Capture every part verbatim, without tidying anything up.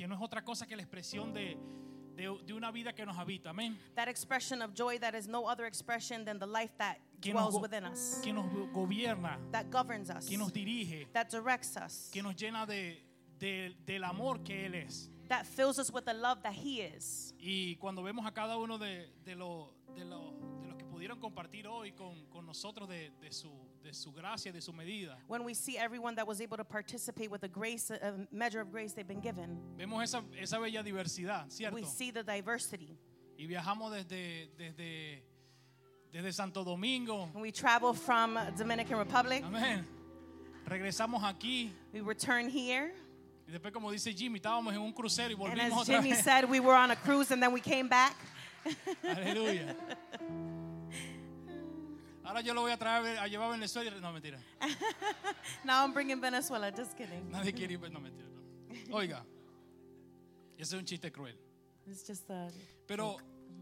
que no es otra cosa que la expresión de, de, de una vida que nos habita. Amén. That expression of joy that is no other expression than the life that Que dwells nos, within us, que nos gobierna, that governs us, que nos dirige, that directs us, que nos llena de, de, del amor que Él es. that fills us with the love that He is. Y cuando vemos a cada uno de, de, lo, de, lo, de los que pudieron compartir hoy con, con nosotros de, de, su, de su gracia, de su medida, When we see everyone that was able to participate with the grace, a measure of grace they've been given, vemos esa, esa bella diversidad, ¿cierto? we see the diversity. Y viajamos desde, desde, desde Santo Domingo. When we travel from Dominican Republic, Amén. Regresamos aquí. we return here, Y después, como dice Jimmy, estábamos en un crucero y and volvimos as otra Jimmy vez. said, we were on a cruise and then we came back. Aleluya. Ahora yo lo voy a traer a llevar a Venezuela. No, mentira. Now I'm bringing Venezuela, just kidding. Nadie quiere ir. No, mentira. No. Oiga, ese es un chiste cruel. It's just a Pero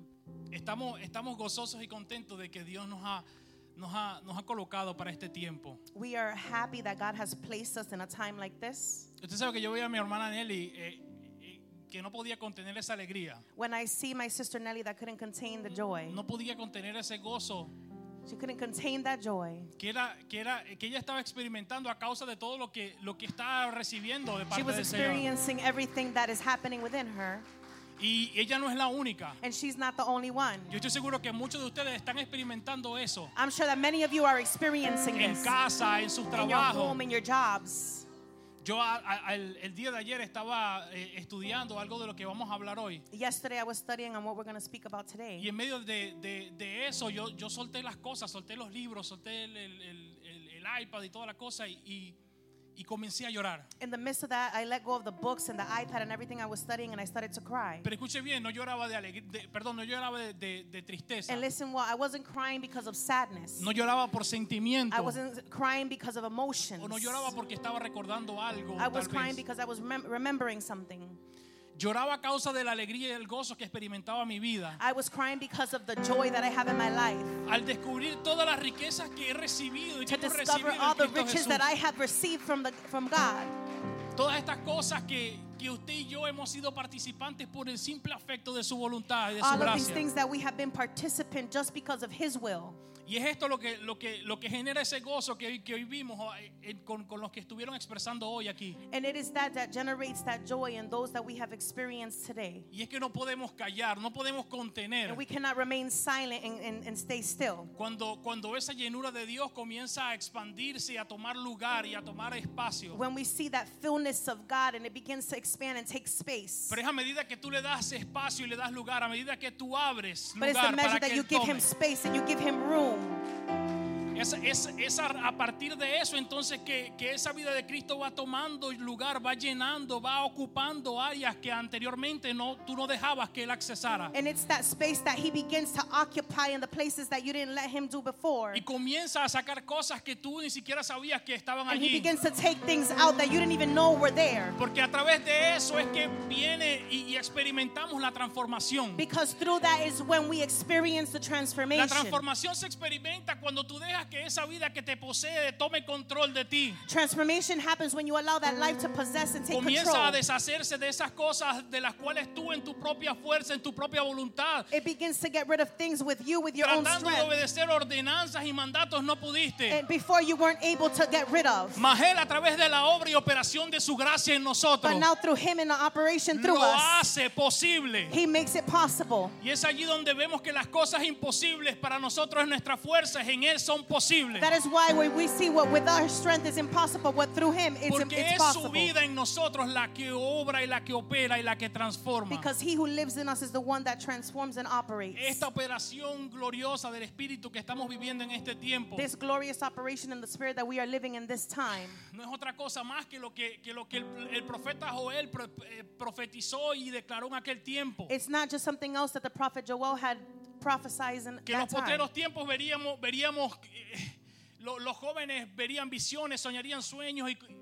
estamos, estamos gozosos y contentos de que Dios nos ha, nos ha, nos ha colocado para este tiempo. We are happy that God has placed us in a time like this. Usted sabe que yo veía a mi hermana Nelly eh, eh, que no podía contener esa alegría. When I see my sister Nelly that couldn't contain the joy, No podía contener ese gozo she couldn't contain that joy. que era que era que ella estaba experimentando a causa de todo lo que lo que está recibiendo de She parte was del Señor. experiencing everything that is happening within her, Y ella no es la única. and she's not the only one. Yo estoy seguro que muchos de ustedes están experimentando eso I'm sure that many of you are experiencing en this casa, en sus in your trabajos. home, in your jobs. Yo a- a- el, el día de ayer estaba eh, estudiando algo de lo que vamos a hablar hoy. Yesterday I was studying on what we're going to speak about today. Y en medio de, de, de eso yo, yo solté las cosas, solté los libros, solté el, el, el, el- el iPad y toda la cosa y, y, y comencé a llorar. In the midst of that, I let go of the books and the iPad and everything I was studying, and I started to cry. Pero escuche bien, no lloraba de alegría, perdón, no lloraba de, de, de tristeza. And listen, well, I wasn't crying because of sadness. No lloraba por sentimiento. I wasn't crying because of emotions. O no lloraba porque estaba recordando algo. I was tal crying vez. because I was remem- remembering something. Lloraba a causa de la alegría y el gozo que experimentaba mi vida. I was crying because of the joy that I have in my life. Al descubrir todas las riquezas que he recibido y que To hemos discover recibido all en the Cristo riches Jesús. that I have received from, the, from God. Todas estas cosas que, que usted y yo hemos sido participantes por el simple afecto de su voluntad y de su All of these gracia. things that we have been participant just because of His will. Y es esto lo que, lo que, lo que genera ese gozo que, hoy- que hoy vimos eh, eh, con, con los que estuvieron expresando hoy aquí. And it is that that generates that joy in those that we have experienced today. Y es que no podemos callar, no podemos contener. And we cannot remain silent and, and, and stay still. Cuando, cuando esa llenura de Dios comienza a expandirse y a tomar lugar y a tomar espacio. When we see that fullness of God and it begins to expand and take space. Pero es a medida que tú le das espacio y le das lugar, a medida que tú abres But it's the lugar measure para that que you Él give tome. Him space and you give Him room. Es, es, es a, a partir de eso entonces que, que esa vida de Cristo va tomando lugar, va llenando, va ocupando áreas que anteriormente no, tú no dejabas que Él accesara. And it's that space that He begins to occupy in the places that you didn't let Him do before. Y comienza a sacar cosas que tú ni siquiera sabías que estaban And He allí. begins to take things out that you didn't even know were there. Porque a través de eso es que viene y, y experimentamos la transformación. Because through that is when we experience the La transformation. transformación se experimenta cuando tú dejas que esa vida que te posee tome control de ti. Transformation happens when you allow that life to possess and take Comienza a control. deshacerse de esas cosas de las cuales tú en tu propia fuerza, en tu propia voluntad, It begins to get rid of things with you, with your own tratando de strength. obedecer ordenanzas y mandatos no pudiste. And before you weren't able to get rid of. Mas Él a través de la obra y operación de su gracia en nosotros But now through Him and the operation through lo us, hace posible. He makes it possible. Y es allí donde vemos que las cosas imposibles para nosotros en nuestras fuerzas en Él son posibles. That is why when we see what with our strength is impossible, what through Him it's, Porque it's es su possible. vida en nosotros la que obra y la que opera y la que transforma. Because He who lives in us is the one that transforms and operates. Esta operación gloriosa del Espíritu que estamos viviendo en este tiempo This glorious operation in the Spirit that we are living in this time no es otra cosa más que lo que, que, lo que el, el profeta Joel pro- eh, profetizó y declaró en aquel tiempo. it's not just something else that the prophet Joel had prophesied in Que en that los time. postreros tiempos veríamos, veríamos eh, lo- los jóvenes verían visiones, soñarían sueños y,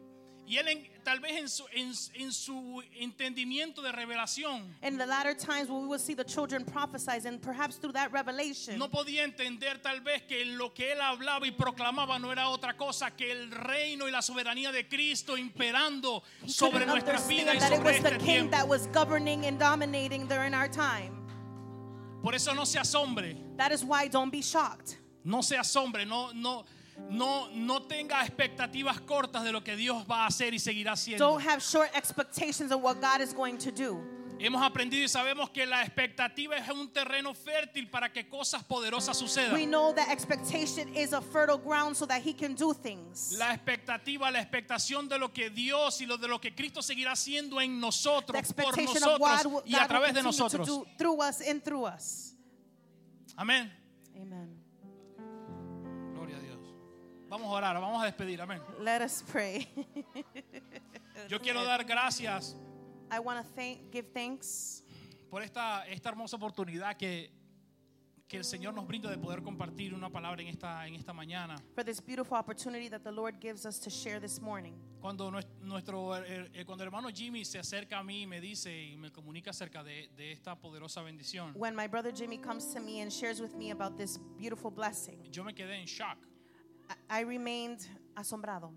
Y él en, tal vez en su, en, en su entendimiento de revelación In the latter times when we will see the children prophesize, and perhaps through that revelation, no podía entender tal vez que lo que él hablaba y proclamaba no era otra cosa que el reino y la soberanía de Cristo imperando he sobre couldn't nuestras vidas y understand that it sobre was the este king tiempo. that was governing and dominating during our time. Por eso no se asombre, That is why don't be shocked. no se asombre, no, no, no, no tenga expectativas cortas de lo que Dios va a hacer y seguirá haciendo. Don't have short expectations of what God is going to do. Hemos aprendido y sabemos que la expectativa es un terreno fértil para que cosas poderosas We sucedan. know that expectation is a fertile ground so that he can do things. La expectativa, la expectación de lo que Dios y lo de lo que Cristo seguirá haciendo en The nosotros, por expectation of what nosotros y God a will través de continue to nosotros. do through us and through us. Amén. Amen. Gloria a Dios. Vamos a orar, vamos a despedir. Amén. Let us pray. Yo quiero dar gracias I want to thank, give thanks por esta, esta hermosa oportunidad que, que el Señor nos brinda de poder compartir una palabra en esta, en esta mañana. for this beautiful opportunity that the Lord gives us to share this morning. Cuando nues- nuestro, eh, eh, cuando el hermano Jimmy se acerca a mí y me dice y me comunica acerca de, de esta poderosa bendición, When my brother Jimmy comes to me and shares with me about this beautiful blessing, yo me quedé en shock. I, I remained asombrado.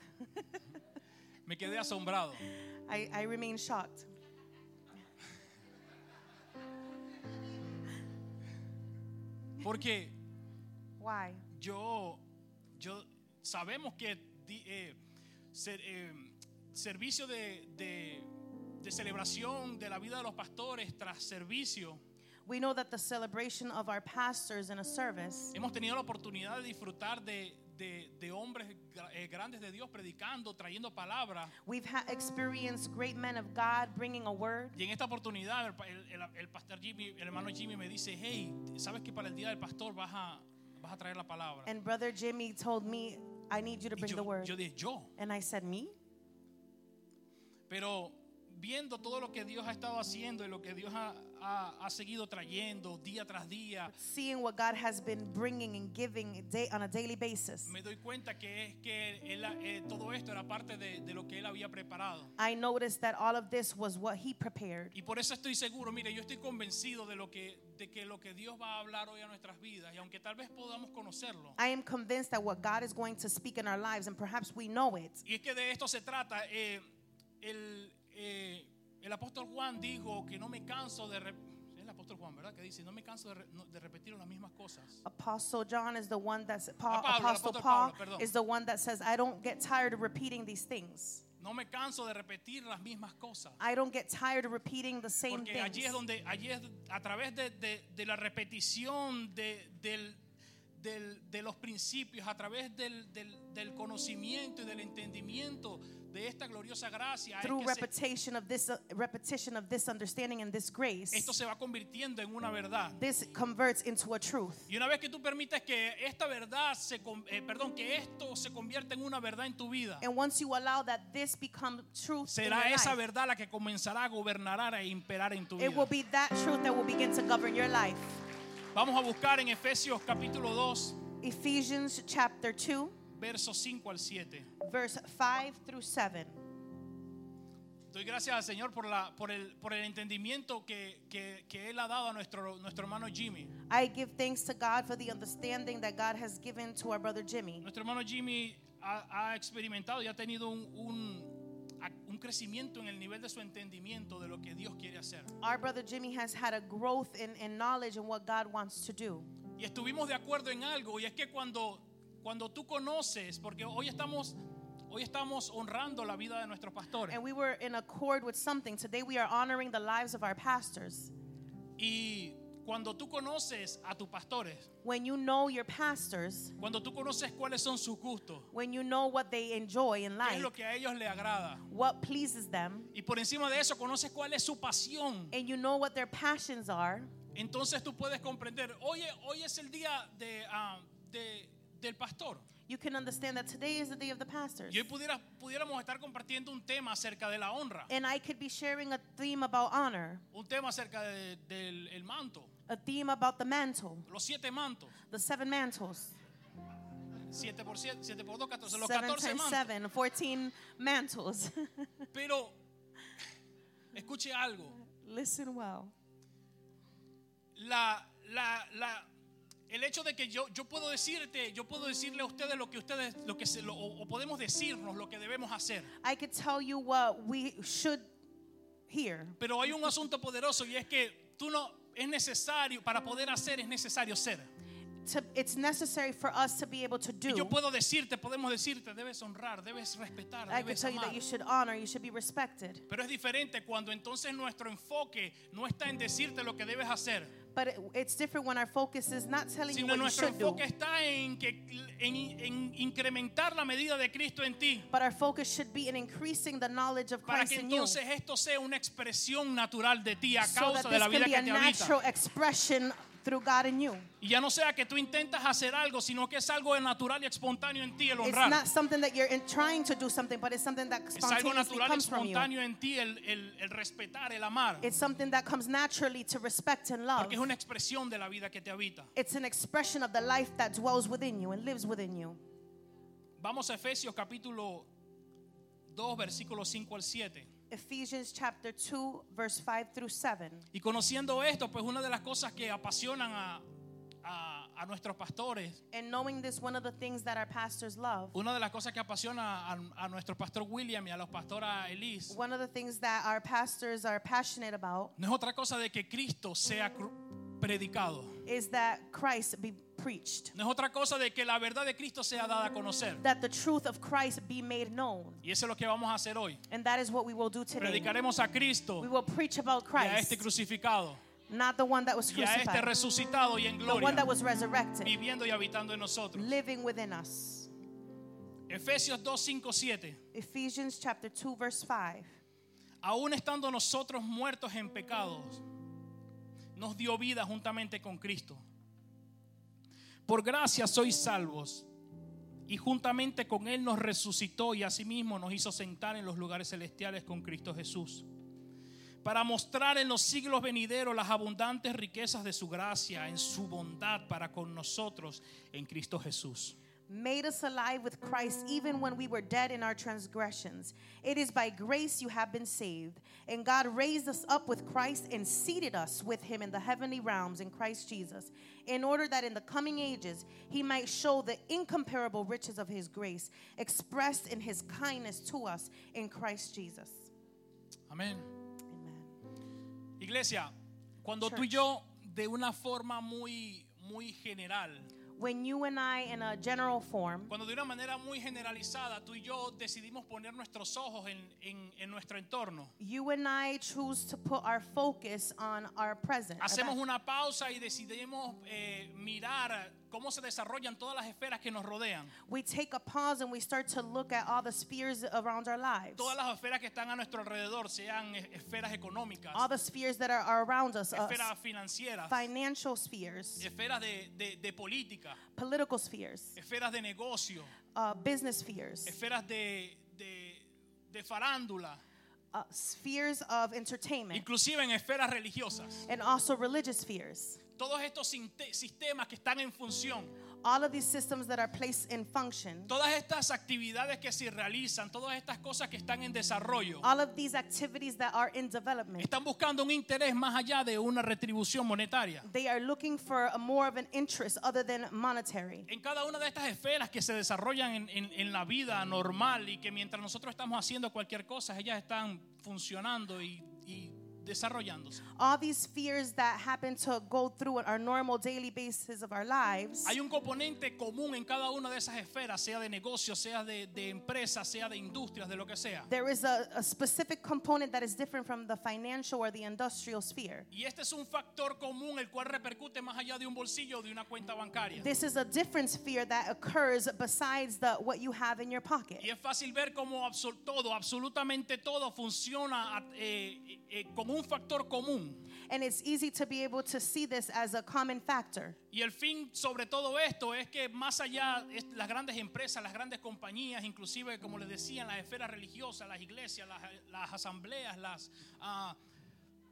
Me quedé asombrado. I, I remained shocked. Porque Why? yo, yo sabemos que di- eh, ser- eh, servicio de, de, de celebración de la vida de los pastores tras servicio, We know that the celebration of our pastors in a service, hemos tenido la oportunidad de disfrutar de, de, de hombres gra- eh, grandes de Dios predicando, trayendo palabra. we've ha- experienced great men of God bringing a word. Y en esta oportunidad el, pa- el- el- el pastor Jimmy, el hermano Jimmy me dice, hey, ¿sabes que para el día del pastor vas a, vas a traer la palabra? And brother Jimmy told me, I need you to Y bring the yo, word. yo dije, yo. And I said, me? Pero viendo todo lo que Dios ha estado haciendo y lo que Dios ha, ha, ha seguido trayendo día tras día, Seeing what God has been bringing and giving day, on a daily basis, me doy cuenta que es que él, eh, todo esto era parte de, de lo que él había preparado. I noticed that all of this was what he prepared. Y por eso estoy seguro, mire, yo estoy convencido de lo que de que lo que Dios va a hablar hoy a nuestras vidas, y aunque tal vez podamos conocerlo, I am convinced that what God is going to speak in our lives, and perhaps we know it, y es que de esto se trata. eh, el, eh, el apóstol Juan dijo que no me canso de re- es el apóstol Juan, ¿verdad? Que dice, no me canso de, re- no- de repetir las mismas cosas. Apostle John is the one that's Paul, Pablo, el Apostle apóstol Paul Pablo, perdón. is the one that says, I don't get tired of repeating these things. No me canso de repetir las mismas cosas. I don't get tired of repeating the same Porque things. allí es donde, allí es a través de, de- de la repetición de, del, del- de los principios, a través del, del- del conocimiento y del entendimiento de esta gloriosa gracia, es Through que se- repetition of this uh, repetition of this understanding and this grace, esto se va convirtiendo en una verdad. this converts into a truth. Y una vez que tú permites que esta verdad se, con- eh, perdón, que esto se convierta en una verdad en tu vida, And once you allow that this become truth in your será esa life, verdad la que comenzará a gobernar e imperar en tu it will vida. be that truth that will begin to govern your life. Vamos a buscar en Efesios capítulo dos, Ephesians chapter two, versos cinco al siete. verse five through seven. Doy gracias al Señor por, la, por, el, por el entendimiento que, que, que Él ha dado a nuestro, nuestro hermano Jimmy. I give thanks to God for the understanding that God has given to our brother Jimmy. Nuestro hermano Jimmy ha, ha experimentado y ha tenido un, un, un crecimiento en el nivel de su entendimiento de lo que Dios quiere hacer. Our brother Jimmy has had a growth in, in knowledge in what God wants to do. Y estuvimos de acuerdo en algo, y es que cuando, cuando tú conoces, porque hoy estamos, hoy estamos honrando la vida de nuestros pastores. And we were in accord with something. Today we are honoring the lives of our pastors. Y cuando tú conoces a tus pastores, When you know your pastors, cuando tú conoces cuáles son sus gustos, when you know what they enjoy in qué es life, lo que a ellos les agrada, what pleases them, y por encima de eso conoces cuál es su pasión, and you know what their passions are, entonces tú puedes comprender, oye, hoy es el día de, ah, de- del pastor. you can understand that today is the day of the pastors. Y hoy pudiera, pudiéramos estar compartiendo un tema acerca de la honra, And I could be sharing a theme about honor, un tema acerca de- del el manto, a theme about the mantle, los siete mantos. the seven mantles. siete por siete, siete por dos, catorce, los Seven catorce times mantos. seven, fourteen mantles. Pero escuche algo. Listen well. La, la, la, el hecho de que yo, yo puedo decirte, yo puedo decirle a ustedes lo que ustedes, lo que se, lo, o, o podemos decirnos lo que debemos hacer. I could tell you what we should hear. Pero hay un asunto poderoso y es que tú no, es necesario, para poder hacer es necesario ser. To, it's necessary for us to be able to Y yo do. puedo decirte, podemos decirte, debes honrar, debes respetar, I could debes tell you amar. that you should honor, you should be respected. Pero es diferente cuando entonces nuestro enfoque no está en decirte lo que debes hacer, But it, it's different when our focus is not telling you sino what you nuestro should do. enfoque está en, que, en, en incrementar la medida de Cristo en ti, But our focus should be in increasing the knowledge of para Christ que in you. entonces esto sea una expresión natural de ti a So causa that de la this vida can be que a te habita. natural expression through God in you. Y ya no sea que tú intentas hacer algo, sino que es algo natural y espontáneo en ti el It's honrar. not something that you're in trying to do something, but it's something that Es algo spontaneously natural y comes from you. espontáneo en ti el, el, el respetar, el amar. It's something that comes naturally to respect and love. Porque es una expresión de la vida que te habita. It's an expression of the life that dwells within you and lives within you. Vamos a Efesios capítulo dos, versículos cinco al siete. Ephesians chapter two, verse five through seven. Y conociendo esto, pues una de las cosas que apasionan a, a, a nuestros pastores, And knowing this, one of the things that our pastors love, una de las cosas que apasiona a, a nuestro pastor William y a los pastora Elise, one of the things that our pastors are passionate about no es otra cosa de que Cristo sea cru- predicado. is that Christ be preached, No es otra cosa de que la verdad de Cristo sea dada a conocer. that the truth of Christ be made known. Y eso es lo que vamos a hacer hoy. And that is what we will do today. Predicaremos a Cristo We will preach about y a este Christ, crucificado not the one that was y a este crucified, resucitado y en the one gloria, that was resurrected, viviendo y habitando en nosotros. living within us. Efesios dos, cinco, siete. Ephesians chapter two, verse five. Aún estando nosotros muertos en pecados, nos dio vida juntamente con Cristo. Por gracia sois salvos, y juntamente con Él nos resucitó y asimismo nos hizo sentar en los lugares celestiales con Cristo Jesús, para mostrar en los siglos venideros las abundantes riquezas de su gracia en su bondad para con nosotros en Cristo Jesús. Made us alive with Christ even when we were dead in our transgressions. It is by grace you have been saved. And God raised us up with Christ and seated us with him in the heavenly realms in Christ Jesus, in order that in the coming ages he might show the incomparable riches of his grace expressed in his kindness to us in Christ Jesus. Amén. Amen. Iglesia, cuando tú y Church. yo de una forma muy, muy general, When you and I, in a general form, cuando de una manera muy generalizada tú y yo decidimos poner nuestros ojos en, en, en nuestro entorno, you and I choose to put our focus on our present. hacemos una pausa y decidimos eh, mirar cómo se desarrollan todas las esferas que nos rodean, We take a pause and we start to look at all the spheres around our lives. todas las esferas que están a nuestro alrededor, sean es- esferas económicas, All the spheres that are, are around us, uh, esferas financieras, financial spheres, esferas de, de, de política, political spheres, esferas de negocio, uh, business spheres, esferas de, de, de farándula, uh, spheres of entertainment, inclusive en esferas religiosas. and also religious spheres. Todos estos sinte- sistemas que están en función, All of these systems that are placed in function, todas estas actividades que se realizan, todas estas cosas que están en desarrollo, all of these activities that are in development, están buscando un interés más allá de una retribución monetaria. they are looking for a more of an interest other than monetary. En cada una de estas esferas que se desarrollan en, en- en la vida normal y que mientras nosotros estamos haciendo cualquier cosa, ellas están funcionando y, y desarrollándose. All these spheres that happen to go through our normal daily basis of our lives, Hay un componente común en cada una de esas esferas, sea de negocios, sea de, de empresas, sea de industrias, de lo que sea. there is a, a specific component that is different from the financial or the industrial sphere. Y este es un factor común el cual repercute más allá de un bolsillo o de una cuenta bancaria. This is a different sphere that occurs besides the what you have in your pocket. Y es fácil ver cómo absol- todo, absolutamente todo funciona a- eh, eh, como un factor común. And it's easy to be able to see this as a common factor. Y el fin sobre todo esto es que más allá es las grandes empresas, las grandes compañías, inclusive como les decía, las esferas religiosas, las iglesias, las, las asambleas, las, ah,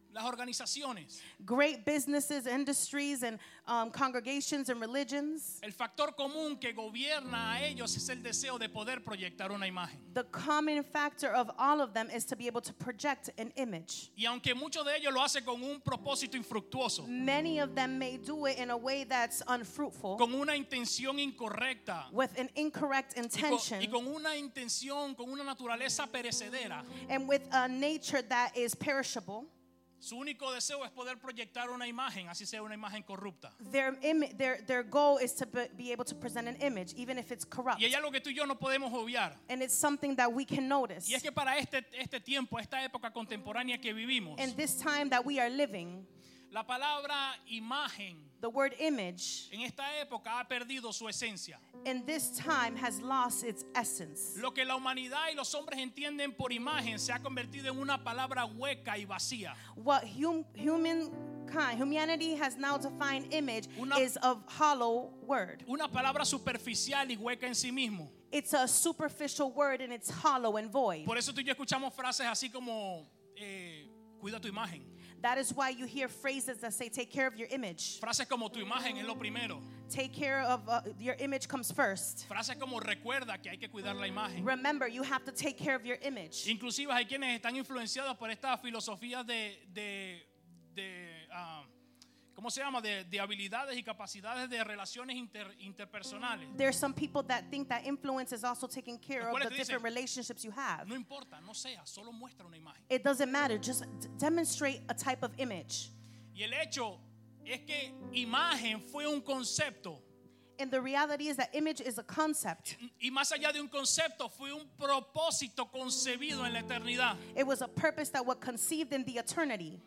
las organizaciones. Great businesses, industries, and um, congregations and religions. El factor común que gobierna a ellos es el deseo de poder proyectar una imagen. The common factor of all of them is to be able to project an image. Y aunque muchos de ellos lo hacen con un propósito infructuoso, Many of them may do it in a way that's unfruitful, con una intención incorrecta, with an incorrect y con, intention, y con una intención, con una naturaleza perecedera, and with a nature that is perishable. su único deseo es poder proyectar una imagen, así sea una imagen corrupta. Their, imi- their, their goal is to be, be able to present an image, even if it's corrupt. Y hay algo que tú y yo no podemos obviar. And it's something that we can notice. Y es que para este, este tiempo, esta época contemporánea que vivimos, In this time that we are living, la palabra imagen the word image en esta época ha perdido su esencia. in this time has lost its essence. Lo que la humanidad y los hombres entienden por imagen se ha convertido en una palabra hueca y vacía. What hum, humankind, humanity has now defined image Una- is a hollow word. Una palabra superficial y hueca en sí mismo. It's a superficial word and it's hollow and void. Por eso tú y yo escuchamos frases así como eh, cuida tu imagen. That is why you hear phrases that say, take care of your image. Frases como tu imagen es lo primero. Take care of uh, your image comes first. Frases como recuerda que hay que cuidar la imagen. Remember, you have to take care of your image. Inclusive hay quienes están influenciados por estas filosofías de, de, de ah, ¿cómo se llama? De, de habilidades y capacidades de relaciones inter, interpersonales. There's some people that think that influence is also taking care Los of cuales the te different dicen, relationships you have. No importa, no sea, solo muestra una imagen. It doesn't matter. Just d- demonstrate a type of image. Y el hecho es que imagen fue un concepto. And the reality is that image is a concept. Y más allá de un concepto, fue un propósito concebido en la eternidad. It was a purpose that was conceived in the eternity.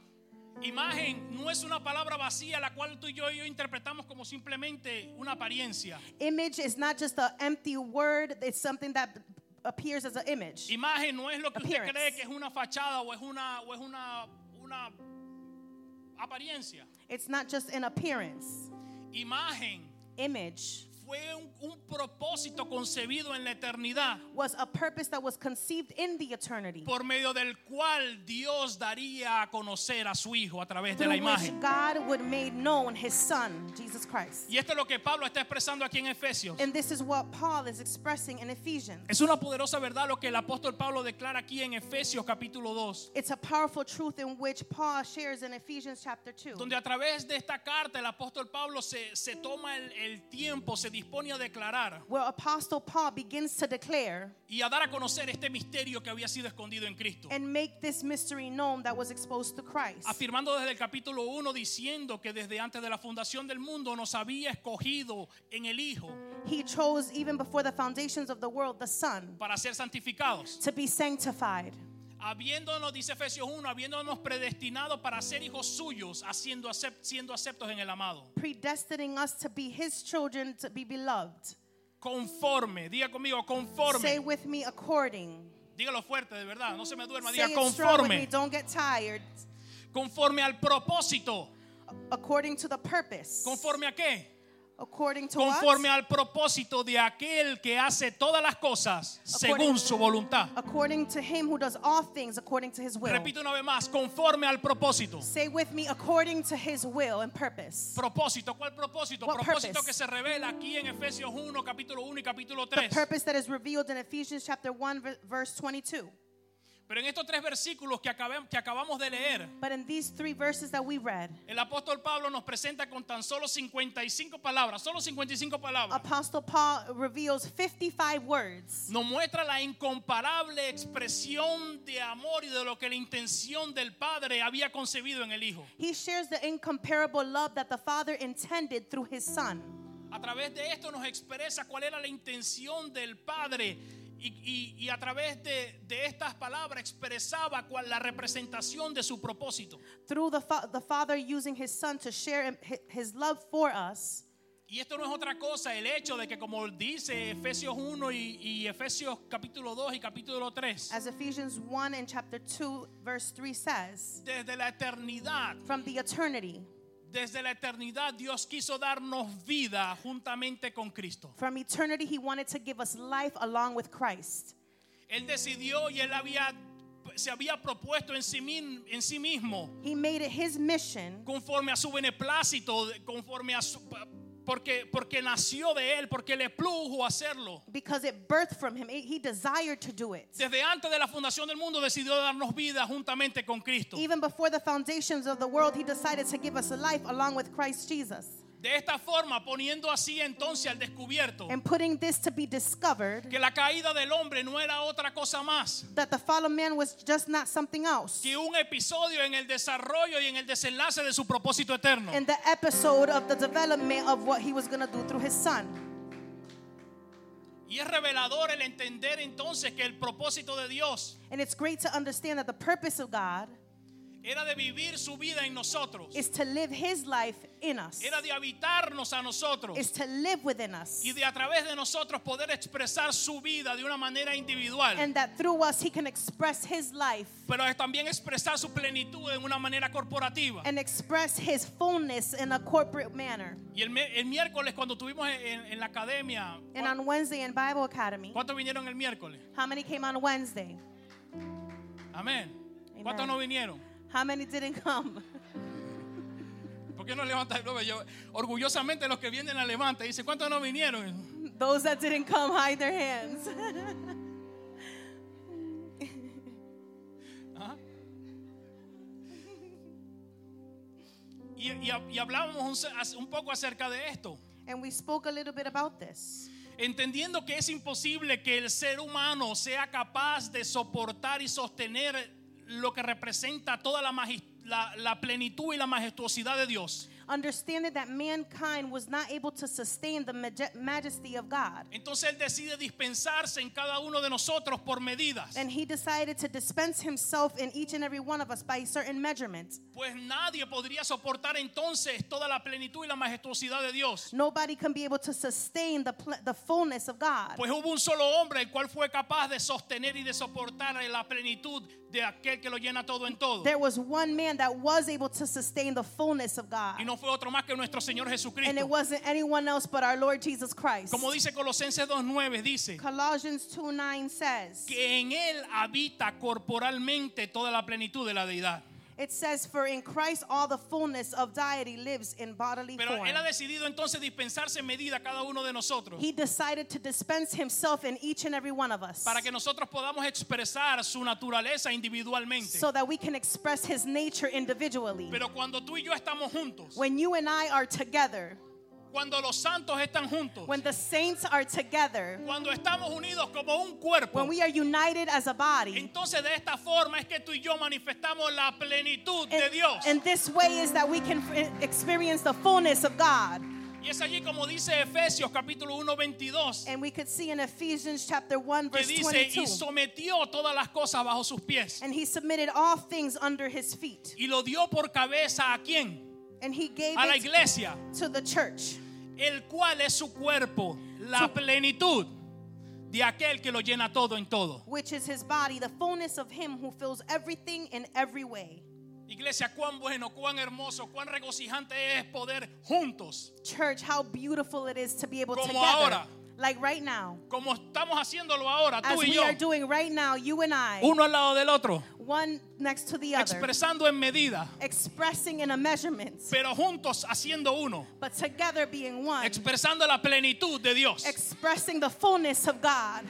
Imagen no es una palabra vacía la cual tú y yo, y yo interpretamos como simplemente una apariencia. Image is not just an empty word. It's something that b- appears as an image. Imagen no es lo que usted Appearance. cree que es una fachada o es una o es una una apariencia. It's not just an appearance. Imagen Image fue un, un propósito concebido en la eternidad was a purpose that was conceived in the eternity, por medio del cual Dios daría a conocer a su Hijo a través de through la which imagen. God would make known his son, Jesus Christ. Y esto es lo que Pablo está expresando aquí en Efesios. And this is what Paul is expressing in Ephesians. Es una poderosa verdad lo que el apóstol Pablo declara aquí en Efesios capítulo dos, It's a powerful truth in which Paul shares in Ephesians chapter two. donde a través de esta carta el apóstol Pablo se, se toma el, el tiempo, se dispone a declarar Where Apostle Paul begins to declare y a dar a conocer este misterio que había sido escondido en Cristo. and make this mystery known that was exposed to Christ. Afirmando desde el capítulo uno, diciendo que desde antes de la fundación del mundo nos había escogido en el Hijo He chose even before the foundations of the world the Son para ser santificados. to be sanctified, Habiéndonos, dice Efesios uno, habiéndonos predestinado para ser hijos suyos, haciendo acep- siendo aceptos en el amado. predestining us to be his children, to be beloved. Conforme, diga conmigo, conforme. Say with me, according. Dígalo fuerte, de verdad, no se me duerma. Say Diga it strong with me, conforme. don't get tired. Conforme al propósito. According to the purpose. ¿Conforme a qué? According to Conforme what? al propósito de aquel que hace todas las cosas según According- su voluntad. According to him who does all things according to his will. Repito una vez más, conforme al propósito. Say with me, according to his will and purpose. Propósito, ¿cuál propósito? What Propósito purpose? que se revela aquí en Efesios uno, capítulo uno y capítulo The tres. purpose that is revealed in Ephesians chapter one, ver- verse twenty-two. Pero en estos tres versículos que, acabé- que acabamos de leer, But in these three verses that we read, el apóstol Pablo nos presenta con tan solo cincuenta y cinco palabras, solo cincuenta y cinco palabras. Apostle Paul reveals fifty-five words. Nos muestra la incomparable expresión de amor y de lo que la intención del Padre había concebido en el Hijo. He shares the incomparable love that the Father intended through his Son. A través de esto nos expresa cuál era la intención del Padre y, y- y a través de, de estas palabras expresaba cuál la representación de su propósito. Through the, fa- the Father using his Son to share hi- his love for us. Y esto no es otra cosa, el hecho de que como dice Efesios uno y, y Efesios capítulo dos y capítulo tres, As Ephesians one and chapter two, verse three says, desde la eternidad, from the eternity, desde la eternidad Dios quiso darnos vida juntamente con Cristo. from eternity, he wanted to give us life along with Christ. Él decidió y él había se había propuesto en sí, en sí mismo, He made it his mission conforme a su beneplácito, conforme a su, porque, porque nació de él, porque le plujo hacerlo. because it birthed from him. He desired to do it. Desde antes de la fundación del mundo decidió darnos vida juntamente con Cristo. Even before the foundations of the world, he decided to give us a life along with Christ Jesus. De esta forma, poniendo así entonces al descubierto And putting this to be discovered, que la caída del hombre no era otra cosa más that the fall of man was just not something else. que un episodio en el desarrollo y en el desenlace de su propósito eterno. And the episode of the development of what he was going to do through his son. Y es revelador el entender entonces que el propósito de Dios And it's great to understand that the purpose of God era de vivir su vida en nosotros, is to live his life in us, era de habitarnos a nosotros is to live within us. y de a través de nosotros poder expresar su vida de una manera individual, And that through us he can express his life pero es también expresar su plenitud en una manera corporativa. and express his fullness in a corporate manner. Y el, mi- el miércoles cuando estuvimos en, en la academia, And on Wednesday in Bible Academy, ¿cuántos vinieron el miércoles? how many came on Wednesday? Amén. ¿Cuántos Amen. no vinieron? How many didn't come? ¿Por qué no levantas el dedo? Yo, orgullosamente los que vienen la levanta y dicen, ¿cuántos no vinieron? Those that didn't come, hide their hands. Ajá. Y, y, y hablábamos un, un poco acerca de esto, And we spoke a little bit about this. entendiendo que es imposible que el ser humano sea capaz de soportar y sostener lo que representa toda la, magis- la, la plenitud y la majestuosidad de Dios. Understanding that mankind was not able to sustain the maj- majesty of God. Entonces Él decide dispensarse en cada uno de nosotros por medidas. And he decided to dispense himself in each and every one of us by certain measurements. Pues nadie podría soportar entonces toda la plenitud y la majestuosidad de Dios. Nobody can be able to sustain the, pl- the fullness of God. Pues hubo un solo hombre el cual fue capaz de sostener y de soportar la plenitud de aquel que lo llena todo en todo. There was one man that was able to sustain the fullness of God. Y no fue otro más que nuestro Señor And it Jesucristo. wasn't anyone else but our Lord Jesus Christ. Como dice Colosenses dos nueve, dice Colossians two nine says, que en Él habita corporalmente toda la plenitud de la deidad. it says, for in Christ all the fullness of deity lives in bodily Pero form. Él ha decidido entonces dispensarse en medida a cada uno de nosotros He decided to dispense himself in each and every one of us para que nosotros podamos expresar su naturaleza individualmente. so that we can express his nature individually. Pero cuando tú y yo estamos juntos, When you and I are together, cuando los santos están juntos, when the saints are together, cuando estamos unidos como un cuerpo, when we are united as a body, entonces de esta forma es que tú y yo manifestamos la plenitud de Dios. and this way is that we can f- experience the fullness of God. Y es allí como dice Efesios capítulo uno veintidós, And we could see in Ephesians chapter one que verse dice, twenty-two. y sometió todas las cosas bajo sus pies. And he submitted all things under his feet. Y lo dio por cabeza a quién? And he gave A la it iglesia, to the church, el cual es su cuerpo, la plenitud de aquel que lo llena todo en todo. which is his body, the fullness of him who fills everything in every way. Iglesia, cuán bueno, cuán hermoso, cuán regocijante es poder juntos, Church, how beautiful it is to be able Como together. ahora. Like right now. como estamos haciéndolo ahora, As tú y we yo, are doing right now, you and I, uno al lado del otro, one next to the other, expresando en medida, expressing in a measurement, pero juntos haciendo uno, but together being one, expresando la plenitud de Dios. expressing the fullness of God.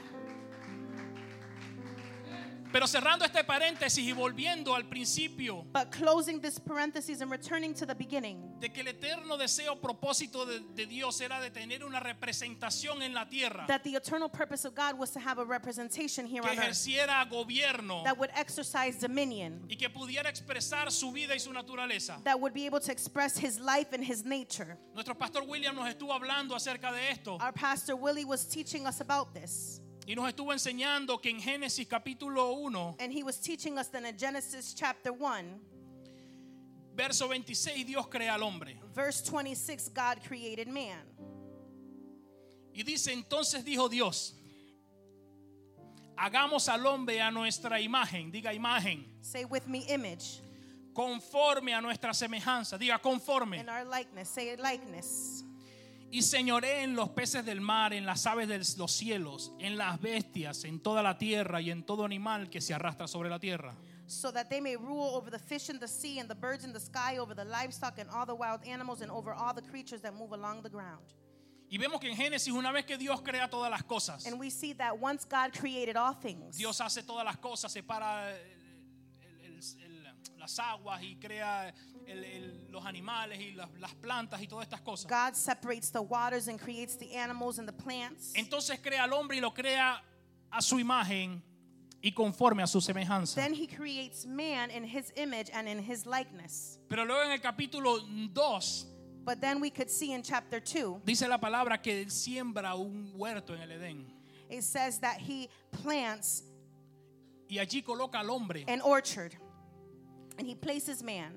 Pero cerrando este paréntesis y volviendo al principio But closing this parenthesis and returning to the beginning, de que el eterno deseo, propósito de, de Dios era de tener una representación en la tierra that the eternal purpose of God was to have a representation here que on earth ejerciera gobierno that would exercise dominion, y que pudiera expresar su vida y su naturaleza. that would be able to express his life and his nature. Nuestro pastor William nos estuvo hablando acerca de esto Our pastor Willie was teaching us about this, y nos estuvo enseñando que en Génesis capítulo uno, and he was teaching us that in Genesis chapter one, verso veintiséis, Dios crea al hombre. verse twenty-six, God created man. Y dice, entonces dijo Dios, hagamos al hombre a nuestra imagen, diga imagen, Say with me, image, conforme a nuestra semejanza, diga conforme, in our likeness, say likeness, y señoree en los peces del mar, en las aves de los cielos, en las bestias, en toda la tierra y en todo animal que se arrastra sobre la tierra. So that they may rule over the fish in the sea and the birds in the sky, over the livestock and all the wild animals, and over all the creatures that move along the ground. Y vemos que en Génesis, una vez que Dios crea todas las cosas, And we see that once God created all things, Dios hace todas las cosas, separa el, el, el, las aguas y crea el, el, los animales y las, las plantas y todas estas cosas. God separates the waters and creates the animals and the plants. Entonces crea al hombre y lo crea a su imagen y conforme a su semejanza. Then he creates man in his image and in his likeness. Pero luego en el capítulo dos But then we could see in chapter two, dice la palabra que él siembra un huerto en el Edén it says that he plants y allí coloca al hombre an orchard and he places man.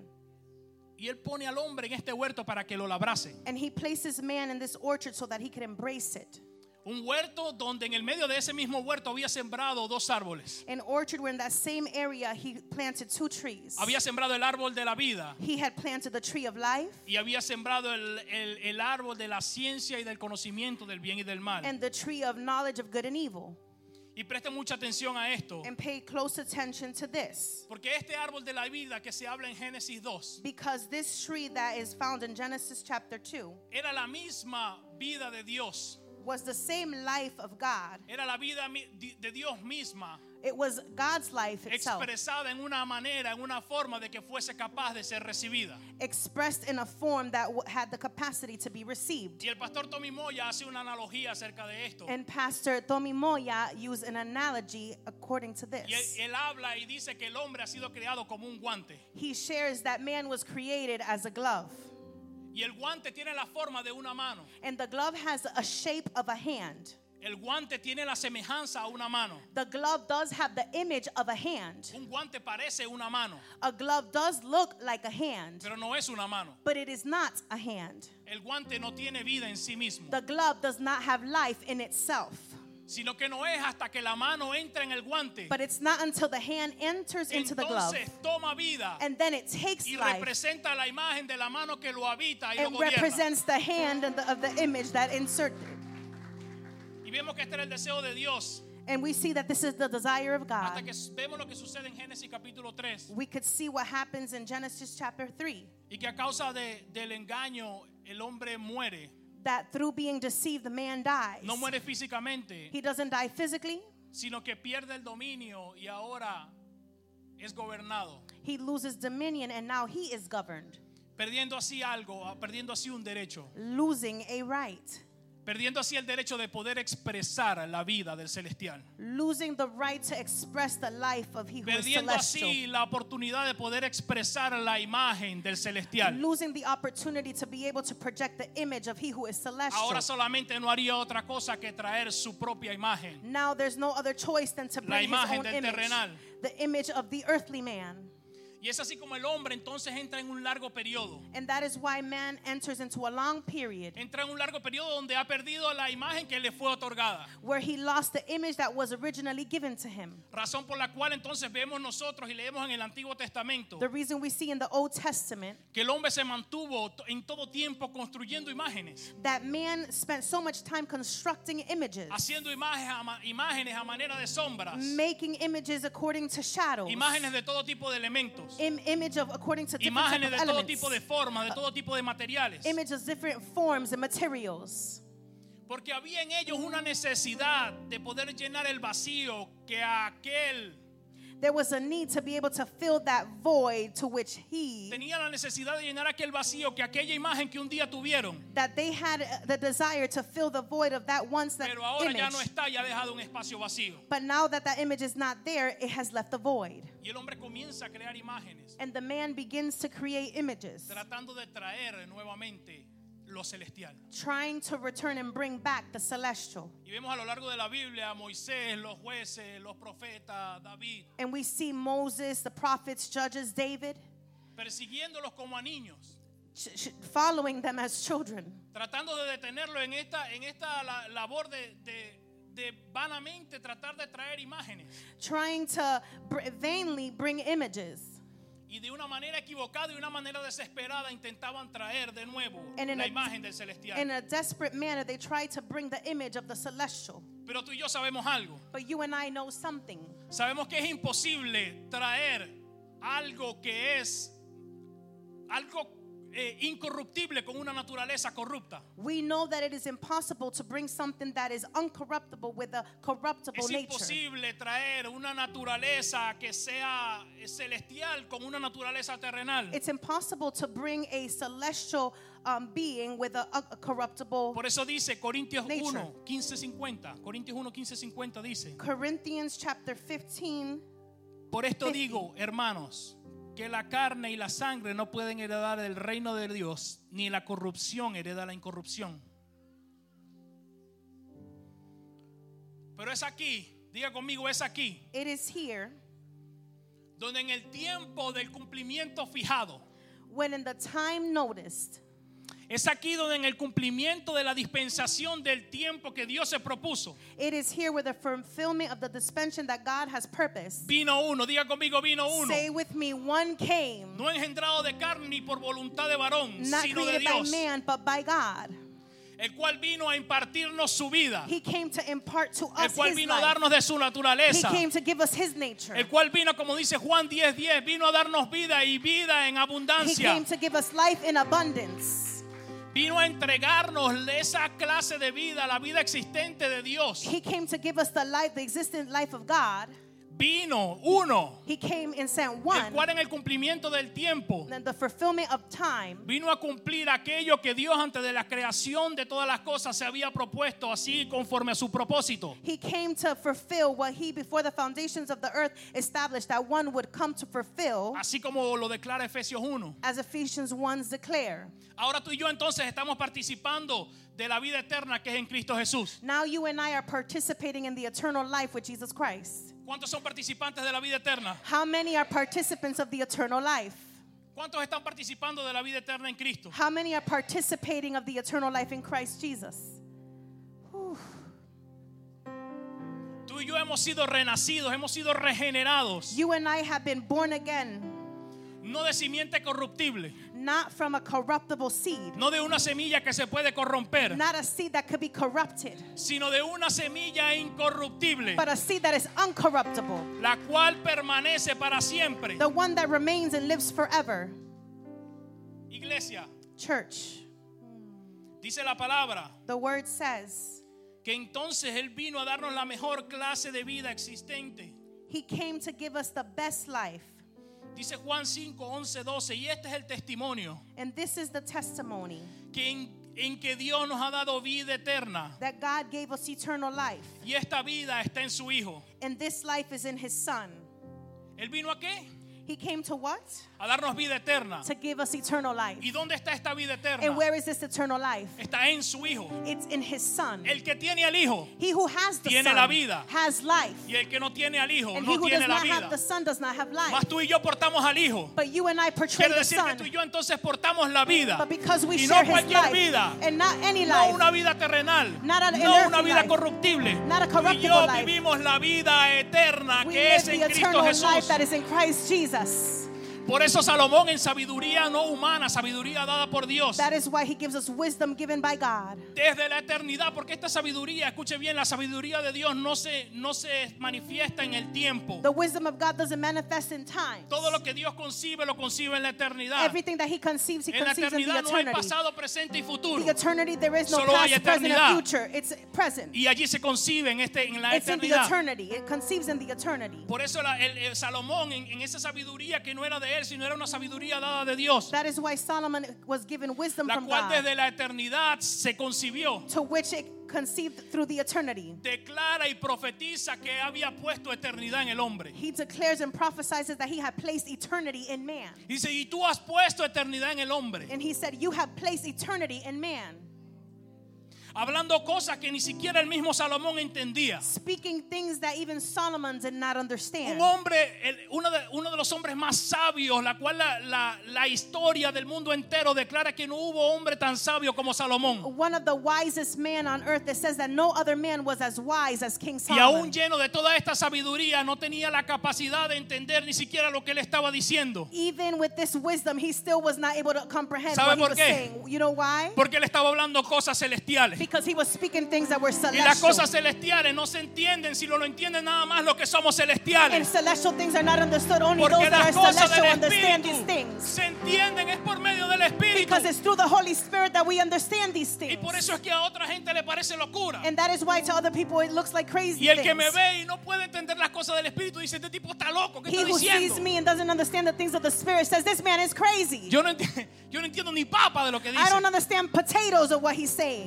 y él pone al hombre en este huerto para que lo labrase. And he places man in this orchard so that he could embrace it. Un huerto donde en el medio de ese mismo huerto había sembrado dos árboles. An orchard where in that same area he planted two trees. Había sembrado el árbol de la vida He had planted the tree of life y había sembrado el, el, el árbol de la ciencia y del conocimiento del bien y del mal. and the tree of knowledge of good and evil. Y presten mucha atención a esto, And pay close attention to this. porque este árbol de la vida que se habla en Génesis dos Because this tree that is found in Genesis chapter two era la misma vida de Dios. was the same life of God. Era la vida mi- di- de Dios misma, It was God's life itself, expresada en una manera, en una forma de que fuese capaz de ser recibida. expressed in a form that w- had the capacity to be received. Y el pastor Tommy Moya hace una analogía acerca de esto. And Pastor Tommy Moya used an analogy according to Y él, this. él habla y dice que el hombre ha sido creado como un guante. He shares that man was created as a glove. Y el guante tiene la forma de una mano. And the glove has a shape of a hand. El guante tiene la semejanza a una mano. The glove does have the image of a hand. Un guante parece una mano, A glove does look like a hand, pero no es una mano. but it is not a hand. El guante no tiene vida en sí mismo, The glove does not have life in itself. sino que no es hasta que la mano entra en el guante. But it's not until the hand enters into the glove Entonces toma vida and then it takes y life representa la imagen de la mano que lo habita y lo and gobierna. represents the hand and the, of the image that inserted. Y vemos que este era el deseo de Dios. And we see that this is the desire of Hasta God. que vemos lo que sucede en Génesis capítulo tres. We could see what happens in Genesis chapter three. Y que a causa de, del engaño el hombre muere. That through being deceived, the man dies. No muere físicamente, He doesn't die physically. sino que pierde el dominio y ahora es gobernado. He loses dominion and now he is governed, Perdiendo así algo, perdiendo así un derecho. losing a right, Perdiendo así el derecho de poder expresar la vida del celestial. losing the right to express the life of he who is Perdiendo celestial, así la oportunidad de poder expresar la imagen del celestial. losing the opportunity to be able to project the image of he who is celestial. Ahora solamente no haría otra cosa que traer su propia imagen. Now there's no other choice than to La bring his imagen own del image, terrenal. the image of the earthly man. Y es así como el hombre entonces entra en un largo periodo. And that is why man enters into a long period Entra en un largo periodo donde ha perdido la imagen que le fue otorgada. where he lost the image that was originally given to him. Razón por la cual entonces vemos nosotros y leemos en el Antiguo Testamento The reason we see in the Old Testament que el hombre se mantuvo en todo tiempo construyendo imágenes, that man spent so much time constructing images, haciendo imágenes a, ma- imágenes a manera de sombras, making images according to shadows, imágenes de todo tipo de elementos, Im- image of according to different imágenes type de of todo elements, tipo de formas, de todo tipo de materiales. images of different forms and materials. Porque había en ellos una necesidad de poder llenar el vacío que aquel There was a need to be able to fill that void to which he, tenía la necesidad de llenar aquel vacío que aquella imagen que un día tuvieron, that they had uh, the desire to fill the void of that once that pero ahora image. ya no está y ha dejado un espacio vacío. But now that that image is not there, it has left a void. Y el hombre comienza a crear imágenes, And the man begins to create images, tratando de traer nuevamente lo celestial. trying to return and bring back the celestial. Y vemos a lo largo de la Biblia a Moisés, los jueces, los profetas, David, And we see Moses, the prophets, judges, David, persiguiéndolos como a niños, ch- ch- following them as children, tratando de detenerlo en esta, en esta la- labor de, de, de vanamente tratar de traer imágenes. trying to br- vainly bring images. Y de una manera equivocada y una manera desesperada intentaban traer de nuevo And in la a- imagen del celestial. In a desperate manner, they tried to bring the image of the celestial. Pero tú y yo sabemos algo. But you and I know something. Sabemos que es imposible traer algo que es algo eh, incorruptible con una naturaleza corrupta. We know that it is impossible to bring something that is uncorruptible with a corruptible Es nature. imposible traer una naturaleza que sea celestial con una naturaleza terrenal. It's impossible to bring a celestial um, being with a, a, a corruptible. Por eso dice Corintios Nature. uno, quince, cincuenta. Corintios uno, quince, cincuenta dice: Corinthians chapter fifteen. Por esto fifty. digo, hermanos, que la carne y la sangre no pueden heredar el reino de Dios, ni la corrupción hereda la incorrupción. Pero es aquí, diga conmigo, es aquí, It is here donde en el tiempo del cumplimiento fijado, when in the time noticed, es aquí donde en el cumplimiento de la dispensación del tiempo que Dios se propuso, it is here where the fulfillment of the dispensation that God has purposed. vino uno, diga conmigo, vino uno, Say with me, one came, no engendrado de carne ni por voluntad de varón, not sino de created by Dios, man, but by God. el cual vino a impartirnos su vida, He came to impart to el us cual his vino a life. darnos de su He naturaleza, came to give us his nature. el cual vino, como dice Juan diez, diez, vino a darnos vida y vida en He abundancia, came to give us life in abundance. vino a entregarnos esa clase de vida, la vida existente de Dios. He came to give us the life, the existent life of God. Vino uno, He came and sent el one. cual en el cumplimiento del tiempo And the fulfillment of time, vino a cumplir aquello que Dios antes de la creación de todas las cosas se había propuesto, así conforme a su propósito. he came to fulfill what he before the foundations of the earth established that one would come to fulfill, Así como lo declara Efesios uno. as Ephesians one declare. Ahora tú y yo entonces estamos participando de la vida eterna que es en Cristo Jesús. Now you and I are participating in the eternal life with Jesus Christ. ¿Cuántos son participantes de la vida eterna? How many are participants of the eternal life? ¿Cuántos están participando de la vida eterna en Cristo? How many are participating of the eternal life in Christ Jesus? Whew. Tú y yo hemos sido renacidos, hemos sido regenerados, You and I have been born again, no de simiente corruptible, not from a corruptible seed, no de una semilla que se puede corromper, not a seed that could be corrupted, sino de una semilla incorruptible, but a seed that is uncorruptible, la cual permanece para siempre. the one that remains and lives forever. Iglesia, Church, dice la palabra the word says, que entonces Él vino a darnos la mejor clase de vida existente. he came to give us the best life. Dice Juan cinco, once, doce, y este es el testimonio And this is the testimony que en, en que Dios nos ha dado vida eterna, that God gave us eternal life. y esta vida está en su Hijo. And this life is in his Son. ¿Él vino a qué? He came to what? A darnos vida eterna. To give us eternal life. ¿Y dónde está esta vida eterna? And where is this eternal life? Está en su Hijo. It's in his Son. El que tiene al Hijo He who has the tiene Son la vida. has life. y el que no tiene al Hijo And he no who does tiene la not have vida. the Son does not have life. Mas tú y yo portamos al Hijo. But you and I portray Quiere the decir que Son. tú y yo entonces portamos la vida. But because we Y share no his cualquier life, vida. and not any No life, una vida terrenal. Not an No earthly una vida life. corruptible. Not a Tú y corruptible yo life. vivimos la vida eterna we que live es the en Cristo eternal life Jesús. that is in Christ Jesus. Por eso Salomón en sabiduría no humana, sabiduría dada por Dios, That is why he gives us wisdom given by God. desde la eternidad, porque esta sabiduría, escuche bien, la sabiduría de Dios no se, no se manifiesta en el tiempo. The wisdom of God doesn't manifest in time. Todo lo que Dios concibe lo concibe en la eternidad. Everything that he conceives, he En la conceives in the eternidad no hay eternity. pasado, presente y futuro. The eternity, there is no Solo hay past, present, eternidad. or future. It's present. Y allí se concibe en, este, en la It's in the eternidad. eternity. It conceives in the eternity. Por eso la- el, el Salomón en, en esa sabiduría que no era de él, sino era una sabiduría dada de Dios, That is why Solomon was given wisdom la from cual God, desde la eternidad se concibió, to which it conceived through the eternity. declara y profetiza que había puesto eternidad en el hombre. He declares and prophesies that he had placed eternity in man. Dice, y tú has puesto eternidad en el hombre. And he said, you have placed eternity in man. hablando cosas que ni siquiera el mismo Salomón entendía. Speaking things that even Solomon did not understand. Un hombre, el, uno, de, uno de los hombres más sabios, la cual la, la, la historia del mundo entero declara que no hubo hombre tan sabio como Salomón. One of the wisest men on earth that says that no other man was as wise as King Y aún Solomon. lleno de toda esta sabiduría, no tenía la capacidad de entender ni siquiera lo que él estaba diciendo. Even with this wisdom, he still was not able to comprehend ¿Sabe what he por was qué? saying. You know why? Porque él estaba hablando cosas celestiales. Because he was speaking things that were Y las celestial. cosas celestiales no se entienden si no lo entienden nada más los que somos And celestiales. celestial things are not understood. Only Porque those that las are cosas celestial del understand these Espíritu things. se entienden es por medio del Espíritu. Because it's through the Holy Spirit that we understand these Y things. por eso es que a otra gente le parece locura. And that is why to other people it looks like crazy Y el que me things. ve y no puede entender las cosas del Espíritu dice, este tipo está loco, ¿qué He está who sees diciendo? me and doesn't understand the things of the Spirit says this man is crazy. Yo no, enti- yo no entiendo ni papa de lo que I dice. don't understand potatoes of what he's saying.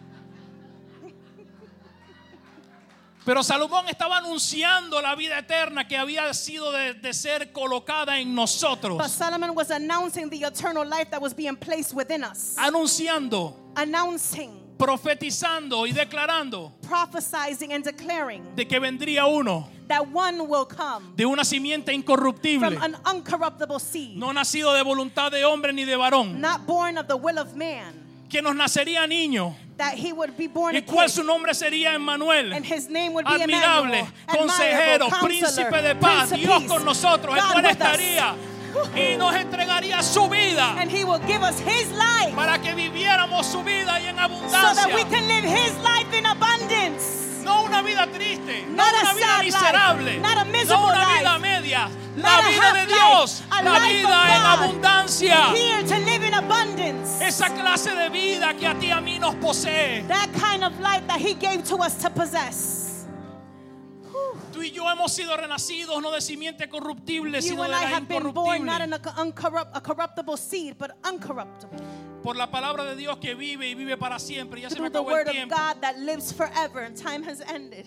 Pero Salomón estaba anunciando la vida eterna que había sido de, de ser colocada en But nosotros. Solomon was announcing the eternal life that was being placed within us. Anunciando, Announcing, profetizando y declarando prophesying and declaring de que vendría uno that one will come de una simiente from incorruptible, an uncorruptible seed, no nacido de voluntad de hombre ni de varón, not born of the will of man, que nos nacería niño, that he would be born a y cual kid, su nombre sería Emmanuel, and his name would be admirable, Emmanuel, consejero, admirable, príncipe counselor, de paz, Prince of Dios Peace, con nosotros, el God cual with us. estaría y nos entregaría su vida And he will give us his life para que viviéramos su vida y en so that we abundancia. can live his life in abundance. No una vida triste, no Not a una vida sad miserable, life, not a no miserable una vida life, media, not la a vida half de life, Dios, a la life vida of en God. abundancia. Here to live in abundance. Esa clase de vida que a ti y a mí nos posee. That kind of life that he gave to us to possess. Tú y yo hemos sido renacidos no de simiente corruptible, You sino de and I la have been born not in incorruptible. a, uncorrupt, a corruptible seed, but uncorruptible. Por la palabra de Dios que vive y vive para siempre. Ya se me Through the acabó el word of tiempo. God that lives forever and time has ended.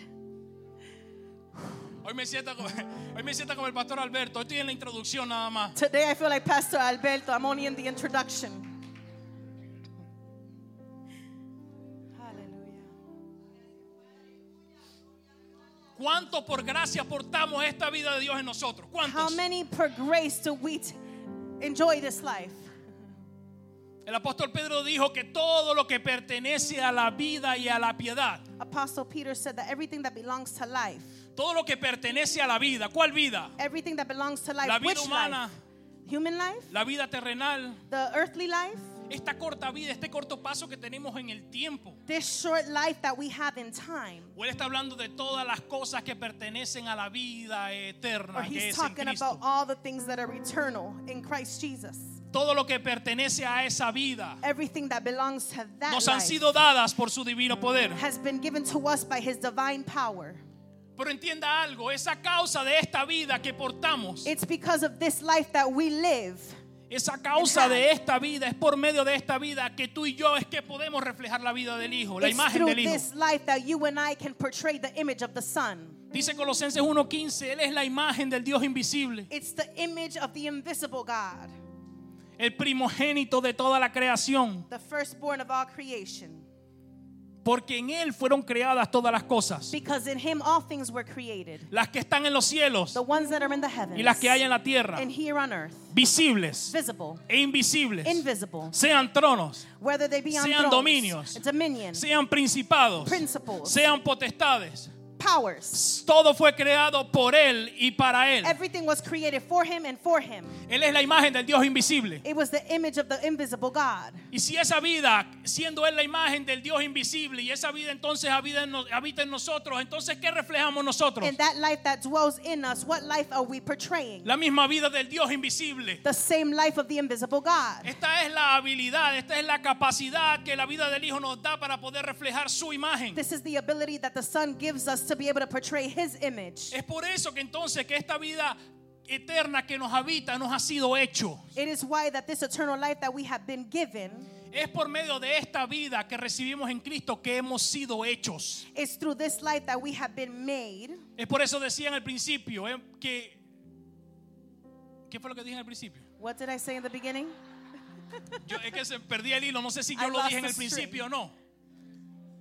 Hoy me siento como, hoy me siento como el pastor Alberto. Estoy en la introducción nada más. Today I feel like Pastor Alberto. I'm only in the introduction. Hallelujah. ¿Cuánto por gracia portamos esta vida de Dios en nosotros? How ¿Cuántos? many per grace do we t- enjoy this life? El apóstol Pedro dijo que todo lo que pertenece a la vida y a la piedad, Apostle Peter said that everything that belongs to life, todo lo que pertenece a la vida, ¿cuál vida? everything that belongs to life, La vida which humana, life? Human life? la vida terrenal, The earthly life? esta corta vida, este corto paso que tenemos en el tiempo. This short life that we have in time? O él está hablando de todas las cosas que pertenecen a la vida Or eterna que he's es en talking Cristo. about all the things that are eternal in Christ Jesus. Todo lo que pertenece a esa vida Everything that belongs to that nos han life sido dadas por su divino poder. has been given to us by his divine power. Pero entienda algo, esa causa de esta vida que portamos, It's because of this life that we live. esa causa de esta vida, es por medio de esta vida que tú y yo es que podemos reflejar la vida del Hijo, la It's imagen through del Hijo. this life that you and I can portray the image of the Son. Dice Colosenses uno quince, Él es la imagen del Dios invisible, It's the image of the invisible God, el primogénito de toda la creación, the firstborn of all creation. porque en Él fueron creadas todas las cosas, Because in him all things were created, las que están en los cielos the ones that are in the heavens y las que hay en la tierra, and here on earth, visibles visible, e invisibles, invisible, sean tronos, whether they be on sean thrones, dominios, dominion, sean principados, principles, sean potestades. powers. Todo fue creado por Él y para Él. Everything was created for him and for him. Él es la imagen del Dios invisible. It was the image of the invisible God. Y si esa vida, siendo Él la imagen del Dios invisible, y esa vida entonces habita en, no- habita en nosotros, entonces ¿qué reflejamos nosotros? And that life that dwells in us, what life are we portraying? La misma vida del Dios invisible. The same life of the invisible God. Esta es la habilidad, esta es la capacidad que la vida del Hijo nos da para poder reflejar su imagen. This is the ability that the Son gives us to be able to portray his image. Es por eso que entonces que esta vida eterna que nos habita nos ha sido hecho. It is why that this eternal life that we have been given Es por medio de esta vida que recibimos en Cristo que hemos sido hechos. is through this life that we have been made. Es por eso decía en el principio eh, que... ¿Qué fue lo que dije en el principio? What did I say in the beginning? Yo, es que se perdí el hilo, no sé si I yo lo lost dije en the el string. principio o no.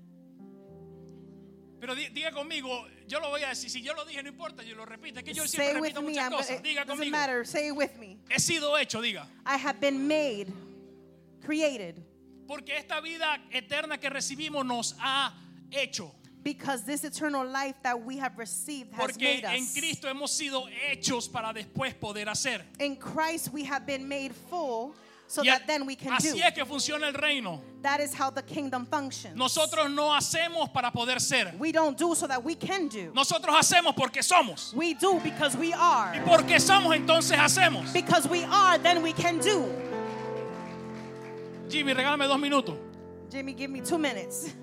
Pero di- diga conmigo, yo lo voy a decir. Si yo lo dije, no importa, yo lo repito. Es que yo Say siempre with repito me. muchas I'm cosas. gonna, Diga it doesn't conmigo. matter. Say it with me. He sido hecho, diga. I have been made, created, Porque esta vida eterna que recibimos nos ha hecho. because this eternal life that we have received has Porque made en us. Cristo hemos sido hechos para después poder hacer. In Christ we have been made full so Y a- that then we can así do. es que funciona el reino. That is how the kingdom functions. Nosotros no hacemos para poder ser. We don't do so that we can do. Nosotros hacemos porque somos. We do because we Y are. porque somos, entonces hacemos. Because we are, then we can do. Jimmy, regálame dos minutos. Jimmy, give me two minutes.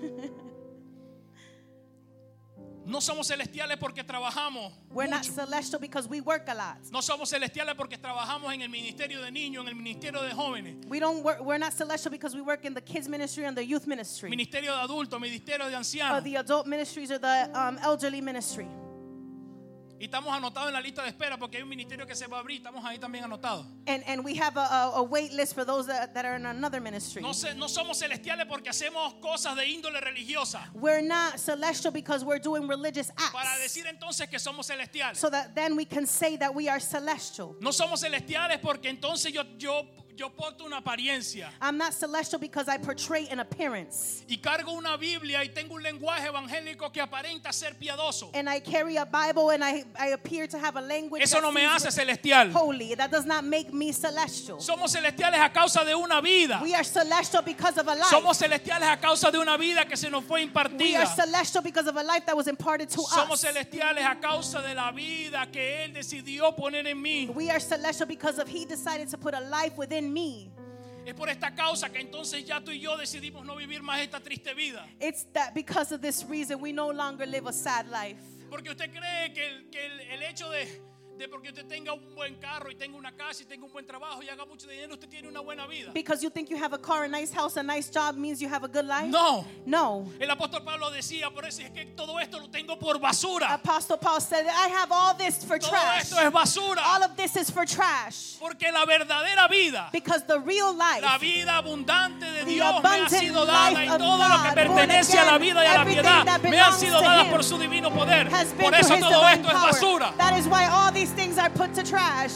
No somos celestiales porque trabajamos We're not mucho. celestial because we work a lot. No somos celestiales porque trabajamos en el ministerio de niños, en el ministerio de jóvenes, We don't work, we're not celestial because we work in the kids ministry and the youth ministry, ministerio de adultos, ministerio de or ancianos. the adult ministries or the um, elderly ministry. Y estamos anotados en la lista de espera porque hay un ministerio que se va a abrir. Estamos ahí también anotados. And and we have a, a, a wait list for those that, that are in another ministry. No, se- no somos celestiales porque hacemos cosas de índole religiosa. We're not celestial because we're doing religious Para acts, decir entonces que somos celestiales. so that then we can say that we are celestial. No somos celestiales porque entonces yo, yo, yo porto una apariencia I'm not celestial because I portray an appearance. y cargo una Biblia y tengo un lenguaje evangélico que aparenta ser piadoso. And I carry a Bible and I, I appear to have a language Eso that no me seems hace celestial. holy. That does not make me celestial. Somos celestiales a causa de una vida. We are celestial because of a life. Somos celestiales a causa de una vida que se nos fue We are impartida. celestial because of a life that was imparted to Somos us. celestiales a causa de la vida que Él decidió poner en mí. We are celestial because of He decided to put a life within me. Es por esta causa que entonces ya tú y yo decidimos no vivir más esta triste vida. It's that because of this reason we no longer live a sad life. Porque usted cree que el, que el, el hecho de, de porque usted tenga un buen carro y tenga una casa y tenga un buen trabajo y haga mucho dinero, usted tiene una buena vida. Because you think you have a car, a nice house, a nice job means you have a good life? No. No. El apóstol Pablo decía, por eso es que todo esto lo tengo por basura. Apostle Paul said, I have all this for Todo trash. esto es basura. All of this is for trash. Porque la verdadera vida, Because the real life, la vida abundante de the Dios me ha abundant sido dada life y of todo lo que God, pertenece born a la again, vida y a la everything piedad that me han belongs sido to dadas Him por su divino poder. has been Por through eso His todo divine esto es power. basura. That is why all these things are put to trash.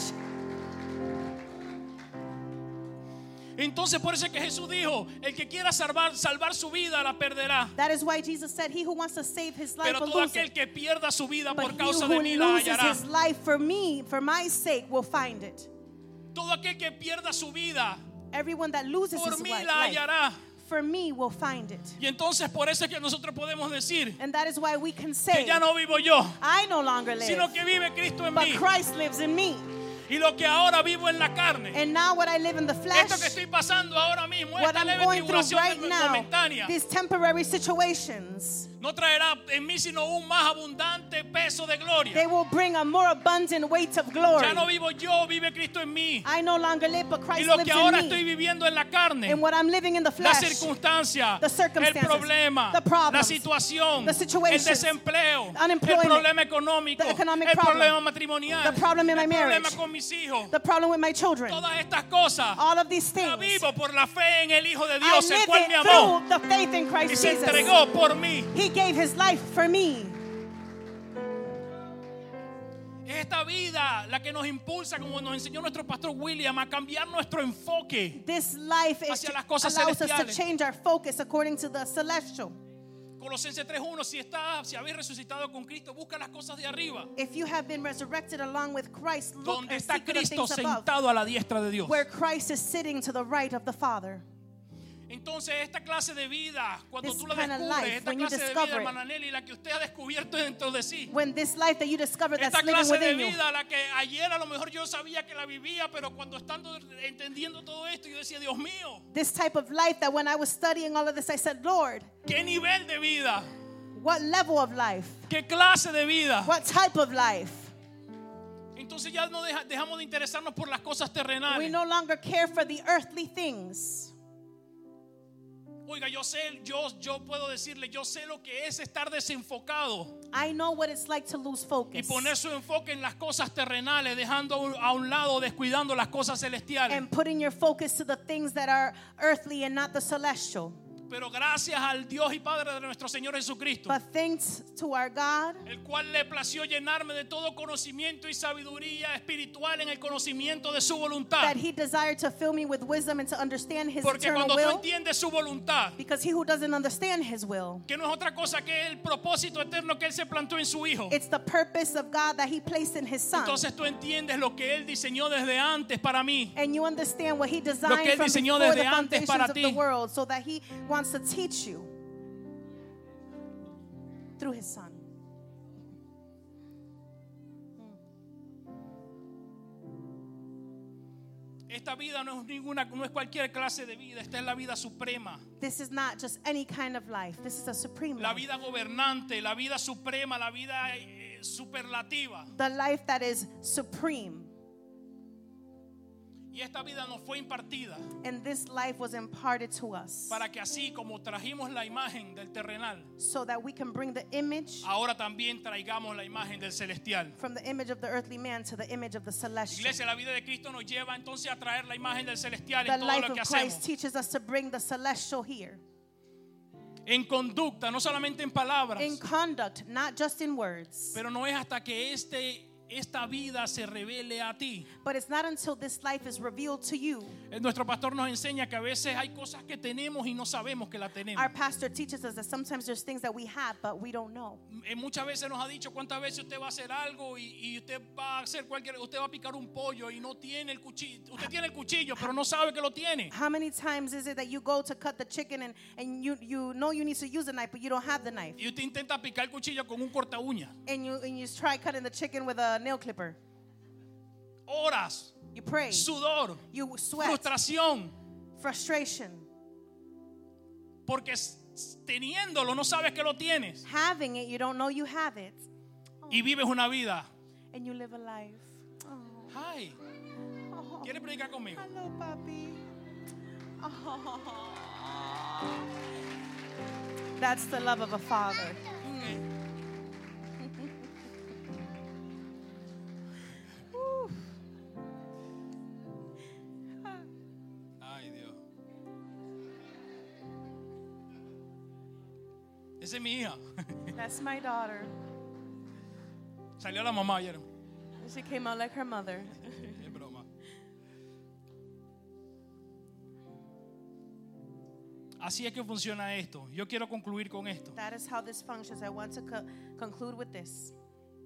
Entonces por eso es que Jesús dijo, el que quiera salvar, salvar su vida la perderá. That is why Jesus said, he who wants to save his life Pero will todo lose aquel it. que pierda su vida But por he causa de who mí la loses hallará. his life for me, for my sake, will find it. Todo aquel que pierda su vida Everyone that loses por his mí life, la life hallará. for me will find it. Y entonces por eso es que nosotros podemos decir And that is why we can que say, ya no vivo yo, I no longer live, sino que vive Cristo en but mí. Christ lives in me. Y lo que ahora vivo en la carne, And now what I live in the flesh, esto que estoy pasando ahora mismo, what esta I'm leve going through tribulación right now, momentánea, these temporary situations, no traerá en mí sino un más abundante peso de gloria. they will bring a more abundant weight of glory. Ya no vivo yo, vive Cristo en mí. I no longer live, but Y Christ lo lives que ahora in estoy me. viviendo en la carne, And what I'm living in the la flesh, circunstancia, the el circumstances, problema, the problems, la situación, the el situations, desempleo, el unemployment, problema económico, the economic el problem, problema matrimonial, the problem in my el problema marriage, con mis hijos, the problem with my children, todas estas cosas all of these la things, vivo por la fe en el Hijo de I Dios, el live cual me it amó through the faith in y Christ se Jesus. entregó por mí. He gave his life for me. Es esta vida la que nos impulsa, como nos enseñó nuestro pastor William, a cambiar nuestro enfoque. This life is, Hacia las cosas allows us to celestiales. change our focus according to the celestial. Colosenses tres uno, si está, si habéis resucitado con Cristo, busca las cosas de arriba, If you have been resurrected along with Christ, look donde and está seek the Cristo things above, sentado a la diestra de Dios. where Christ is sitting to the right of the Father. Entonces esta clase de vida, cuando This tú la kind of descubres, life, esta when you clase de discover vida, it. hermana Nelly, la que usted ha descubierto dentro de sí, When this life that you discover that's esta living clase de within you, vida, la que ayer a lo mejor yo sabía que la vivía, pero cuando estando entendiendo todo esto, yo decía, Dios mío, this type of life that when I was studying all of this, I said, Lord, qué nivel de vida, what level of life? qué clase de vida. What type of life? Entonces ya no deja- dejamos de interesarnos por las cosas We terrenales. no longer care for the earthly things. Oiga, yo sé, yo, yo puedo decirle, yo sé lo que es estar desenfocado I know what it's like to lose y focus poner su enfoque en las cosas terrenales, dejando a un- a un lado, descuidando las cosas celestiales. and putting your focus to the things that are earthly and not the celestial. Pero gracias al Dios y Padre de nuestro Señor Jesucristo, But thanks to our God, el cual le plació llenarme de todo conocimiento y sabiduría espiritual en el conocimiento de su voluntad. that He desired to fill me with wisdom and to understand His Porque eternal cuando tú will. entiendes su voluntad, Because he who doesn't understand His will, que no es otra cosa que el propósito eterno que Él se plantó en su Hijo, it's the purpose of God that He placed in His Son. entonces tú entiendes lo que Él diseñó desde antes para mí. And you understand what He Lo que designed Él from diseñó before desde the antes foundations para of ti. the world, so that He wants to teach you through His Son. Esta vida no es ninguna, no es cualquier clase de vida. Esta es la vida suprema, This is not just any kind of life. This is a supreme la life. vida gobernante, la vida suprema, la vida eh, superlativa. The life that is supreme. Y esta vida nos fue impartida And this life was imparted to us para que así como trajimos la imagen del terrenal, so that we can bring the image ahora también traigamos la imagen del celestial. from the image of the earthly man to the image of the celestial. Iglesia, la vida de Cristo nos lleva entonces a traer la imagen del celestial The en todo life lo of que Christ hacemos. teaches us to bring the celestial here. En conducta, no solamente en palabras, In conduct, not just in words. pero no es hasta que este esta vida se revele a ti. But it's not until this life is revealed to you. Nuestro pastor nos enseña que a veces hay cosas que tenemos y no sabemos que la tenemos. Our pastor teaches us that sometimes there's things that we have, but we don't know. Eh, Muchas veces nos ha dicho cuántas veces usted va a hacer algo y, y usted va a hacer cualquier, usted va a picar un pollo y no tiene el cuchillo. Usted tiene el cuchillo, pero no sabe que lo tiene. How many times is it that you go to cut the chicken and, and you, you know you need to use a knife, but you don't have the knife? Y usted intenta picar el cuchillo con un corta uña. And you, and you try cutting the chicken with a nail clipper. Horas, You pray. sudor, You sweat. frustración, Frustration. porque s- teniéndolo no sabes que lo tienes Having it, you don't know you have it. y vives una vida. And you live a life. Oh. Ay, Oh. ¿quiere predicar conmigo? Hello, papi. Oh. That's the love of a father. Woo. Ay, Dios. Esa es mi hija. That's my daughter. Salió la mamá ayer. She came out like her mother. Es broma. Así es que funciona esto. Yo quiero concluir con esto. That is how this functions. I want to co- conclude with this.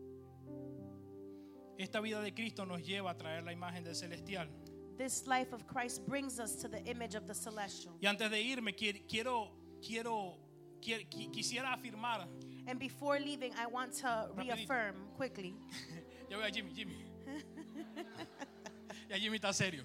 Esta vida de Cristo nos lleva a traer la imagen del celestial. This life of Christ brings us to the image of the celestial. Y antes de irme, quiero, quiero, quiero, qui- qui- quisiera afirmar. And before leaving, I want to Rapidito. reaffirm quickly. Ya voy a Jimmy, Jimmy. Ya Jimmy está serio.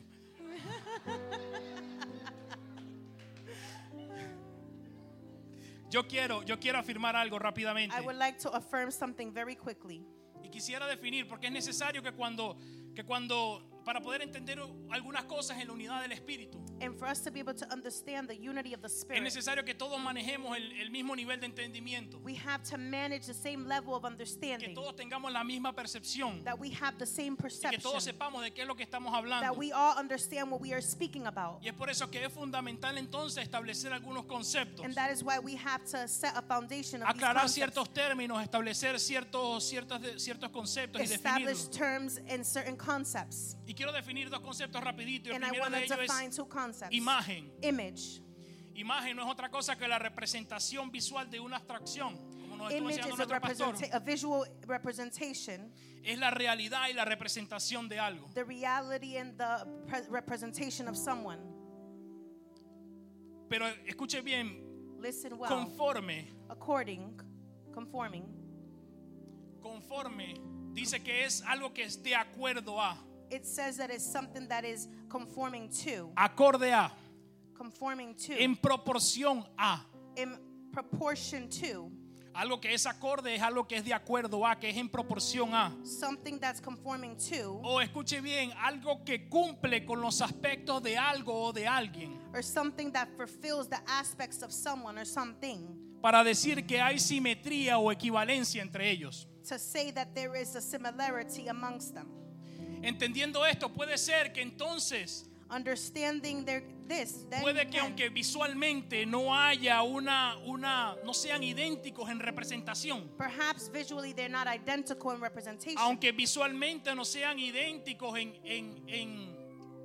Yo quiero, yo quiero afirmar algo rápidamente. I would like to affirm something very quickly. Y quisiera definir, porque es necesario que cuando, que cuando, para poder entender algunas cosas en la unidad del Espíritu, And for us to be able to understand the unity of the es Spirit, necesario que todos manejemos el, el mismo nivel de entendimiento, we have to manage the same level of que understanding, todos tengamos la misma percepción, that we have the same y que perception, todos sepamos de qué es lo que estamos that hablando. we all understand what we are speaking about. Y es por eso que es fundamental entonces establecer algunos conceptos, And that is why we have to set a foundation of these aclarar concepts, ciertos términos, establecer ciertos, ciertos, de- ciertos conceptos y establish definirlos. terms and certain concepts. Y quiero definir dos conceptos rapidito. Y el And I primero de want to ellos define es two concepts. imagen. Image. Imagen no es otra cosa que la representación visual de una abstracción, como nos estuvo Image enseñando is a, nuestro pastor. representa- a visual representation, Es la realidad y la representación de algo. the reality and the pre- representation of someone. Pero escuche bien, Listen well. conforme, According, conforming. conforme, dice que es algo que es de acuerdo a, It says that it's something that is conforming to, acorde a, conforming to, en proporción a. in proportion to, Algo que es acorde es algo que es de acuerdo a, que es en proporción a. something that's conforming to, O escuche bien, algo que cumple con los aspectos de algo o de alguien. or something that fulfills the aspects of someone or something, Para decir que hay simetría o equivalencia entre ellos. to say that there is a similarity amongst them. Entendiendo esto, puede ser que entonces understanding their this, then Puede you que can. aunque visualmente no haya una, una, no sean idénticos en representación, Perhaps visually they're not identical in representation. aunque visualmente no sean idénticos en, en, en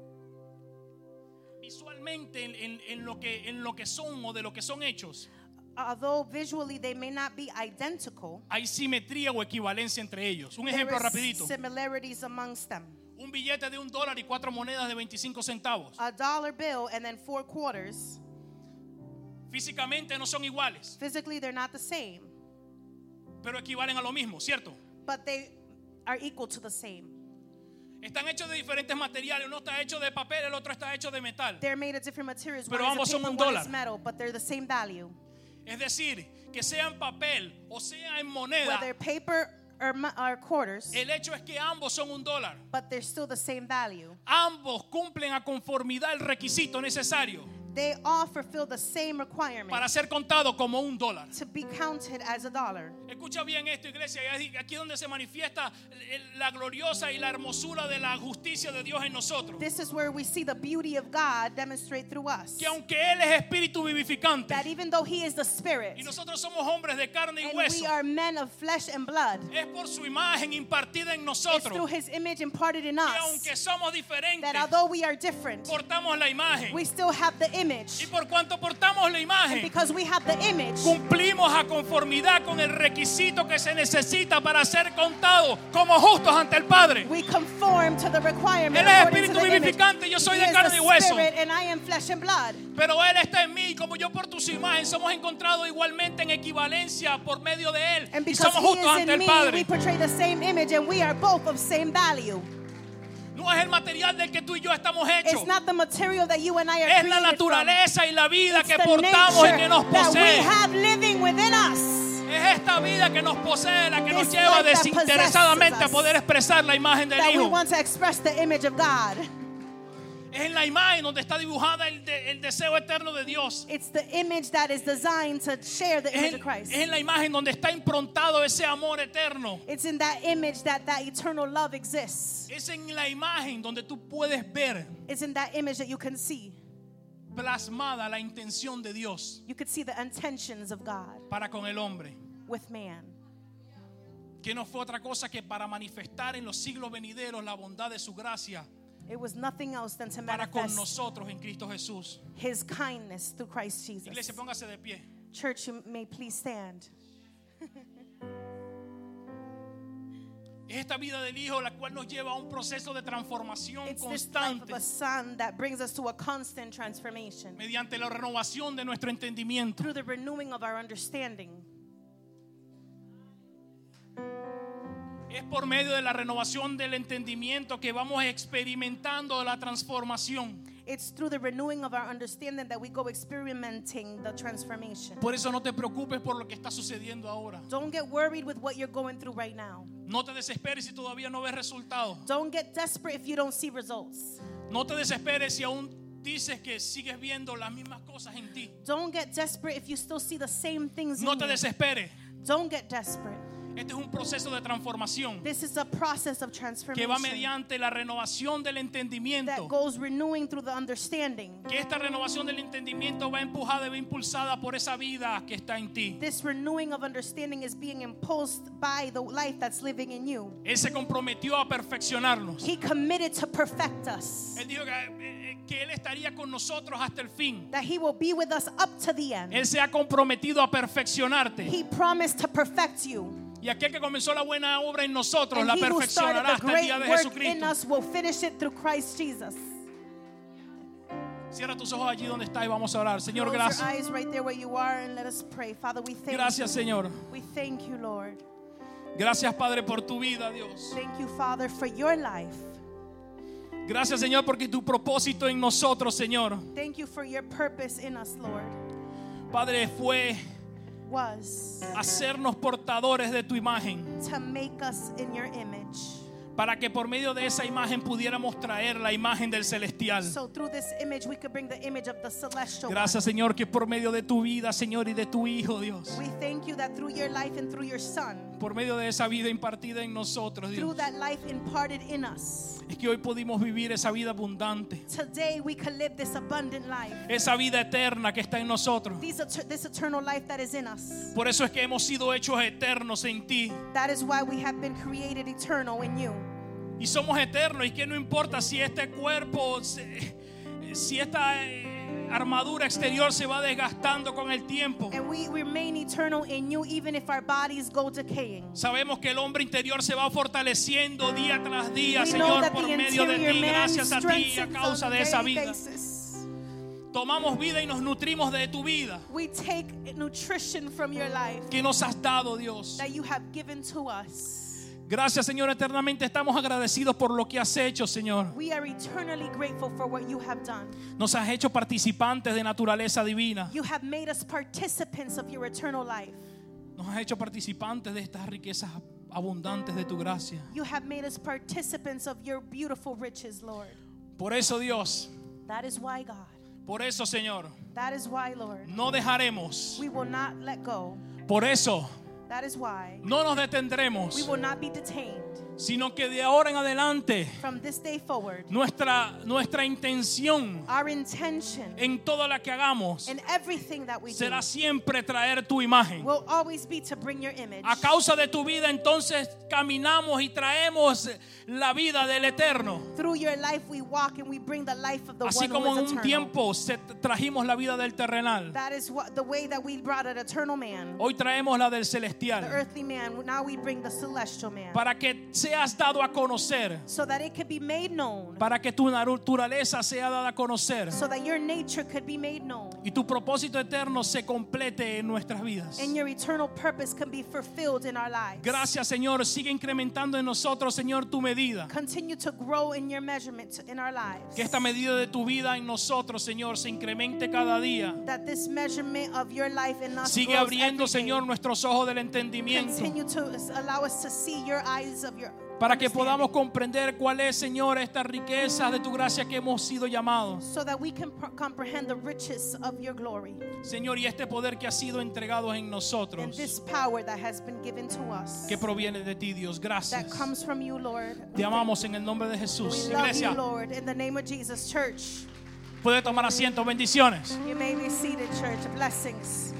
visualmente en, en, en lo que en lo que son o de lo que son hechos, Although visually they may not be identical, hay simetría o equivalencia entre ellos. Un there ejemplo is rapidito: similarities amongst them. un billete de un dólar y cuatro monedas de veinticinco centavos. A dollar bill and then four quarters. Físicamente no son iguales, Physically they're not the same, pero equivalen a lo mismo, ¿cierto? but they are equal to the same. Están hechos de diferentes materiales. Uno está hecho de papel, el otro está hecho de metal. They're made of different materials. Pero One ambos is a son paper, un one dólar. is metal, but they're the same value. Es decir, que sea en papel o sea en moneda, Whether paper or, mo- or quarters, el hecho es que ambos son un dólar. but they're still the same value. Ambos cumplen a conformidad el requisito necesario They all fulfill the same requirement para ser contado como un dólar. to be counted as a dollar. Escucha bien esto, iglesia. Aquí es donde se manifiesta la gloriosa y la hermosura de la justicia de Dios en nosotros. This is where we see the beauty of God demonstrate through us. Que aunque Él es espíritu vivificante That even though He is the Spirit, y nosotros somos hombres de carne y and hueso, we are men of flesh and blood, es por su imagen impartida en it's through nosotros. His image imparted in Que us. aunque somos diferentes, That although we are different, portamos la imagen. we still have the Y image. por cuanto portamos la And imagen, because we have the image, cumplimos a conformidad con el requisito que se necesita para ser contados como justos ante el Padre. we conform to the requirement. Él es according to espíritu the image. vivificante, yo soy He de is carne the y hueso. Spirit, and I am flesh and blood. Pero Él está en mí, y como yo por tu imagen somos encontrados igualmente en equivalencia por medio de Él. And Y because somos He justos is ante in el me, Padre. we portray the same image, and we are both of same value. No es el material del que tú y yo estamos hechos. It's not the material that you and I are Es la created from. naturaleza y la vida It's que the portamos y nature que nos that we posee. have living within us. Es esta vida que nos posee la que nos This lleva life that desinteresadamente possesses a poder us. expresar la imagen del That we Hijo. want to express the image of God. Es en la imagen donde está dibujada el, de- el deseo eterno de Dios. It's the image that is designed to share the Es image en, of Christ. es en la imagen donde está improntado ese amor eterno. It's in that image that that eternal love exists. Es en la imagen donde tú puedes ver It's in that image that you can see. plasmada la intención de Dios You could see the intentions of God para con el hombre. with man. Que no fue otra cosa que para manifestar en los siglos venideros la bondad de su gracia It was nothing else than to para con manifest nosotros en Cristo Jesús. His kindness through Christ Jesus. Iglesia, póngase de pie. Church, you may please stand. Es esta vida del Hijo la cual nos lleva a un proceso de transformación It's this life of constante a son that brings us to a constant transformation mediante la renovación de nuestro entendimiento. through the renewing of our understanding. Es por medio de la renovación del entendimiento que vamos experimentando la transformación. It's through the renewing of our understanding that we go experimenting the transformation. Por eso no te preocupes por lo que está sucediendo ahora. Don't get worried with what you're going through right now. No te desesperes si todavía no ves resultados. Don't get desperate if you don't see results. No te desesperes si aún dices que sigues viendo las mismas cosas en ti. Don't get desperate if you still see the same things No in te you. desesperes. Don't get desperate. Este es un proceso de transformación This is a process of que transformation va mediante la renovación del that entendimiento. goes renewing through the understanding. Que esta renovación del entendimiento va empujada y va impulsada por esa vida que está en ti. This renewing of understanding is being impulsed by the life that's living in you. Él se comprometió a perfeccionarnos. He committed to perfect us. Él dijo que, eh, que Él estaría con nosotros hasta el fin. That He will be with us up to the end. Él se ha comprometido a perfeccionarte. He promised to perfect you. Y aquel que comenzó la buena obra en nosotros And la He who started perfeccionará the hasta el great día de work in Jesucristo. us will finish it through Christ Jesus. Cierra tus ojos allí donde está y vamos a orar. Señor, Close your gracias. eyes right there where you are and let us pray. Father, we thank Gracias, you. Señor. We thank you, Lord. Gracias, Padre, por tu vida, Dios. Thank you, Father, for your life. Gracias, Señor, porque tu propósito en nosotros, Señor, Thank you for your purpose in us, Lord. Padre, fue Was hacernos portadores de tu imagen, to make us in your image. para que por medio de esa imagen pudiéramos traer la imagen del celestial. So through this image, we could bring the image of the celestial Gracias, Señor, que por medio de tu vida, Señor, y de tu Hijo, Dios, one. We thank you that through your life and through your Son, por medio de esa vida impartida en nosotros, through Dios, that life imparted in us. es que hoy pudimos vivir esa vida abundante, Today we can live this abundant life. esa vida eterna que está en nosotros. These, this eternal life that is in us. Por eso es que hemos sido hechos eternos en ti. That is why we have been created eternal in you. Y somos eternos, y que no importa si este cuerpo, se- si esta eh, armadura exterior se va desgastando con el tiempo. And we remain eternal in you even if our bodies go decaying. Sabemos que el hombre interior se va fortaleciendo día tras día, We know Señor, that por the medio de interior ti, man gracias a ti, a strengthens causa on a de esa daily vida. basis. Tomamos vida y nos nutrimos de tu vida We take nutrition from your life que nos has dado, Dios. that you have given to us. Gracias, Señor, eternamente estamos agradecidos por lo que has hecho, Señor. We are eternally grateful for what you have done. Nos has hecho participantes de naturaleza divina. You have made us participants of your eternal life. Nos has hecho participantes de estas riquezas abundantes de tu gracia. You have made us participants of your beautiful riches, Lord. Por eso, Dios, That is why, God. por eso, Señor, That is why, Lord. no dejaremos. We will not let go. Por eso, That is why no nos we detendremos, will not be detained. sino que de ahora en adelante From this day forward, nuestra, nuestra intención our intention en todo lo que hagamos in everything that we do será siempre traer tu imagen. will always be to bring your image. A causa de tu vida, entonces caminamos y traemos la vida del eterno. Through your life we walk and we bring the life of the Así one como who en is un eternal. tiempo se- trajimos la vida del terrenal, That is what the way that we brought an eternal man, hoy traemos la del the celestial, earthly man. Now we bring the celestial man, para que seas dado a conocer, so that it could be made known, para que tu naturaleza sea dada a conocer so that your nature could be made known, y tu propósito eterno se complete en nuestras vidas. and your eternal purpose can be fulfilled in our lives. Gracias, Señor. Sigue incrementando en nosotros, Señor, tu medida. Continue to grow in your measurement in our lives. Que esta medida de tu vida en nosotros, Señor, se incremente cada día. That this measurement of your life in us Sigue grows abriendo, every day. Señor, nuestros ojos del entendimiento, Continue to allow us to see your eyes of your para que understanding, podamos comprender cuál es, Señor, esta riqueza de tu gracia que hemos sido llamados. so that we can pr- comprehend the riches of your glory Señor, y este poder que ha sido entregado en and nosotros, this power that has been given to us que proviene de ti, Dios. that Gracias. comes from you, Lord. Te amamos en el nombre de We Jesús. love Iglesia, you, Lord, in the name of Jesus. Church, puede tomar asiento. Bendiciones. you may be seated, church. Blessings.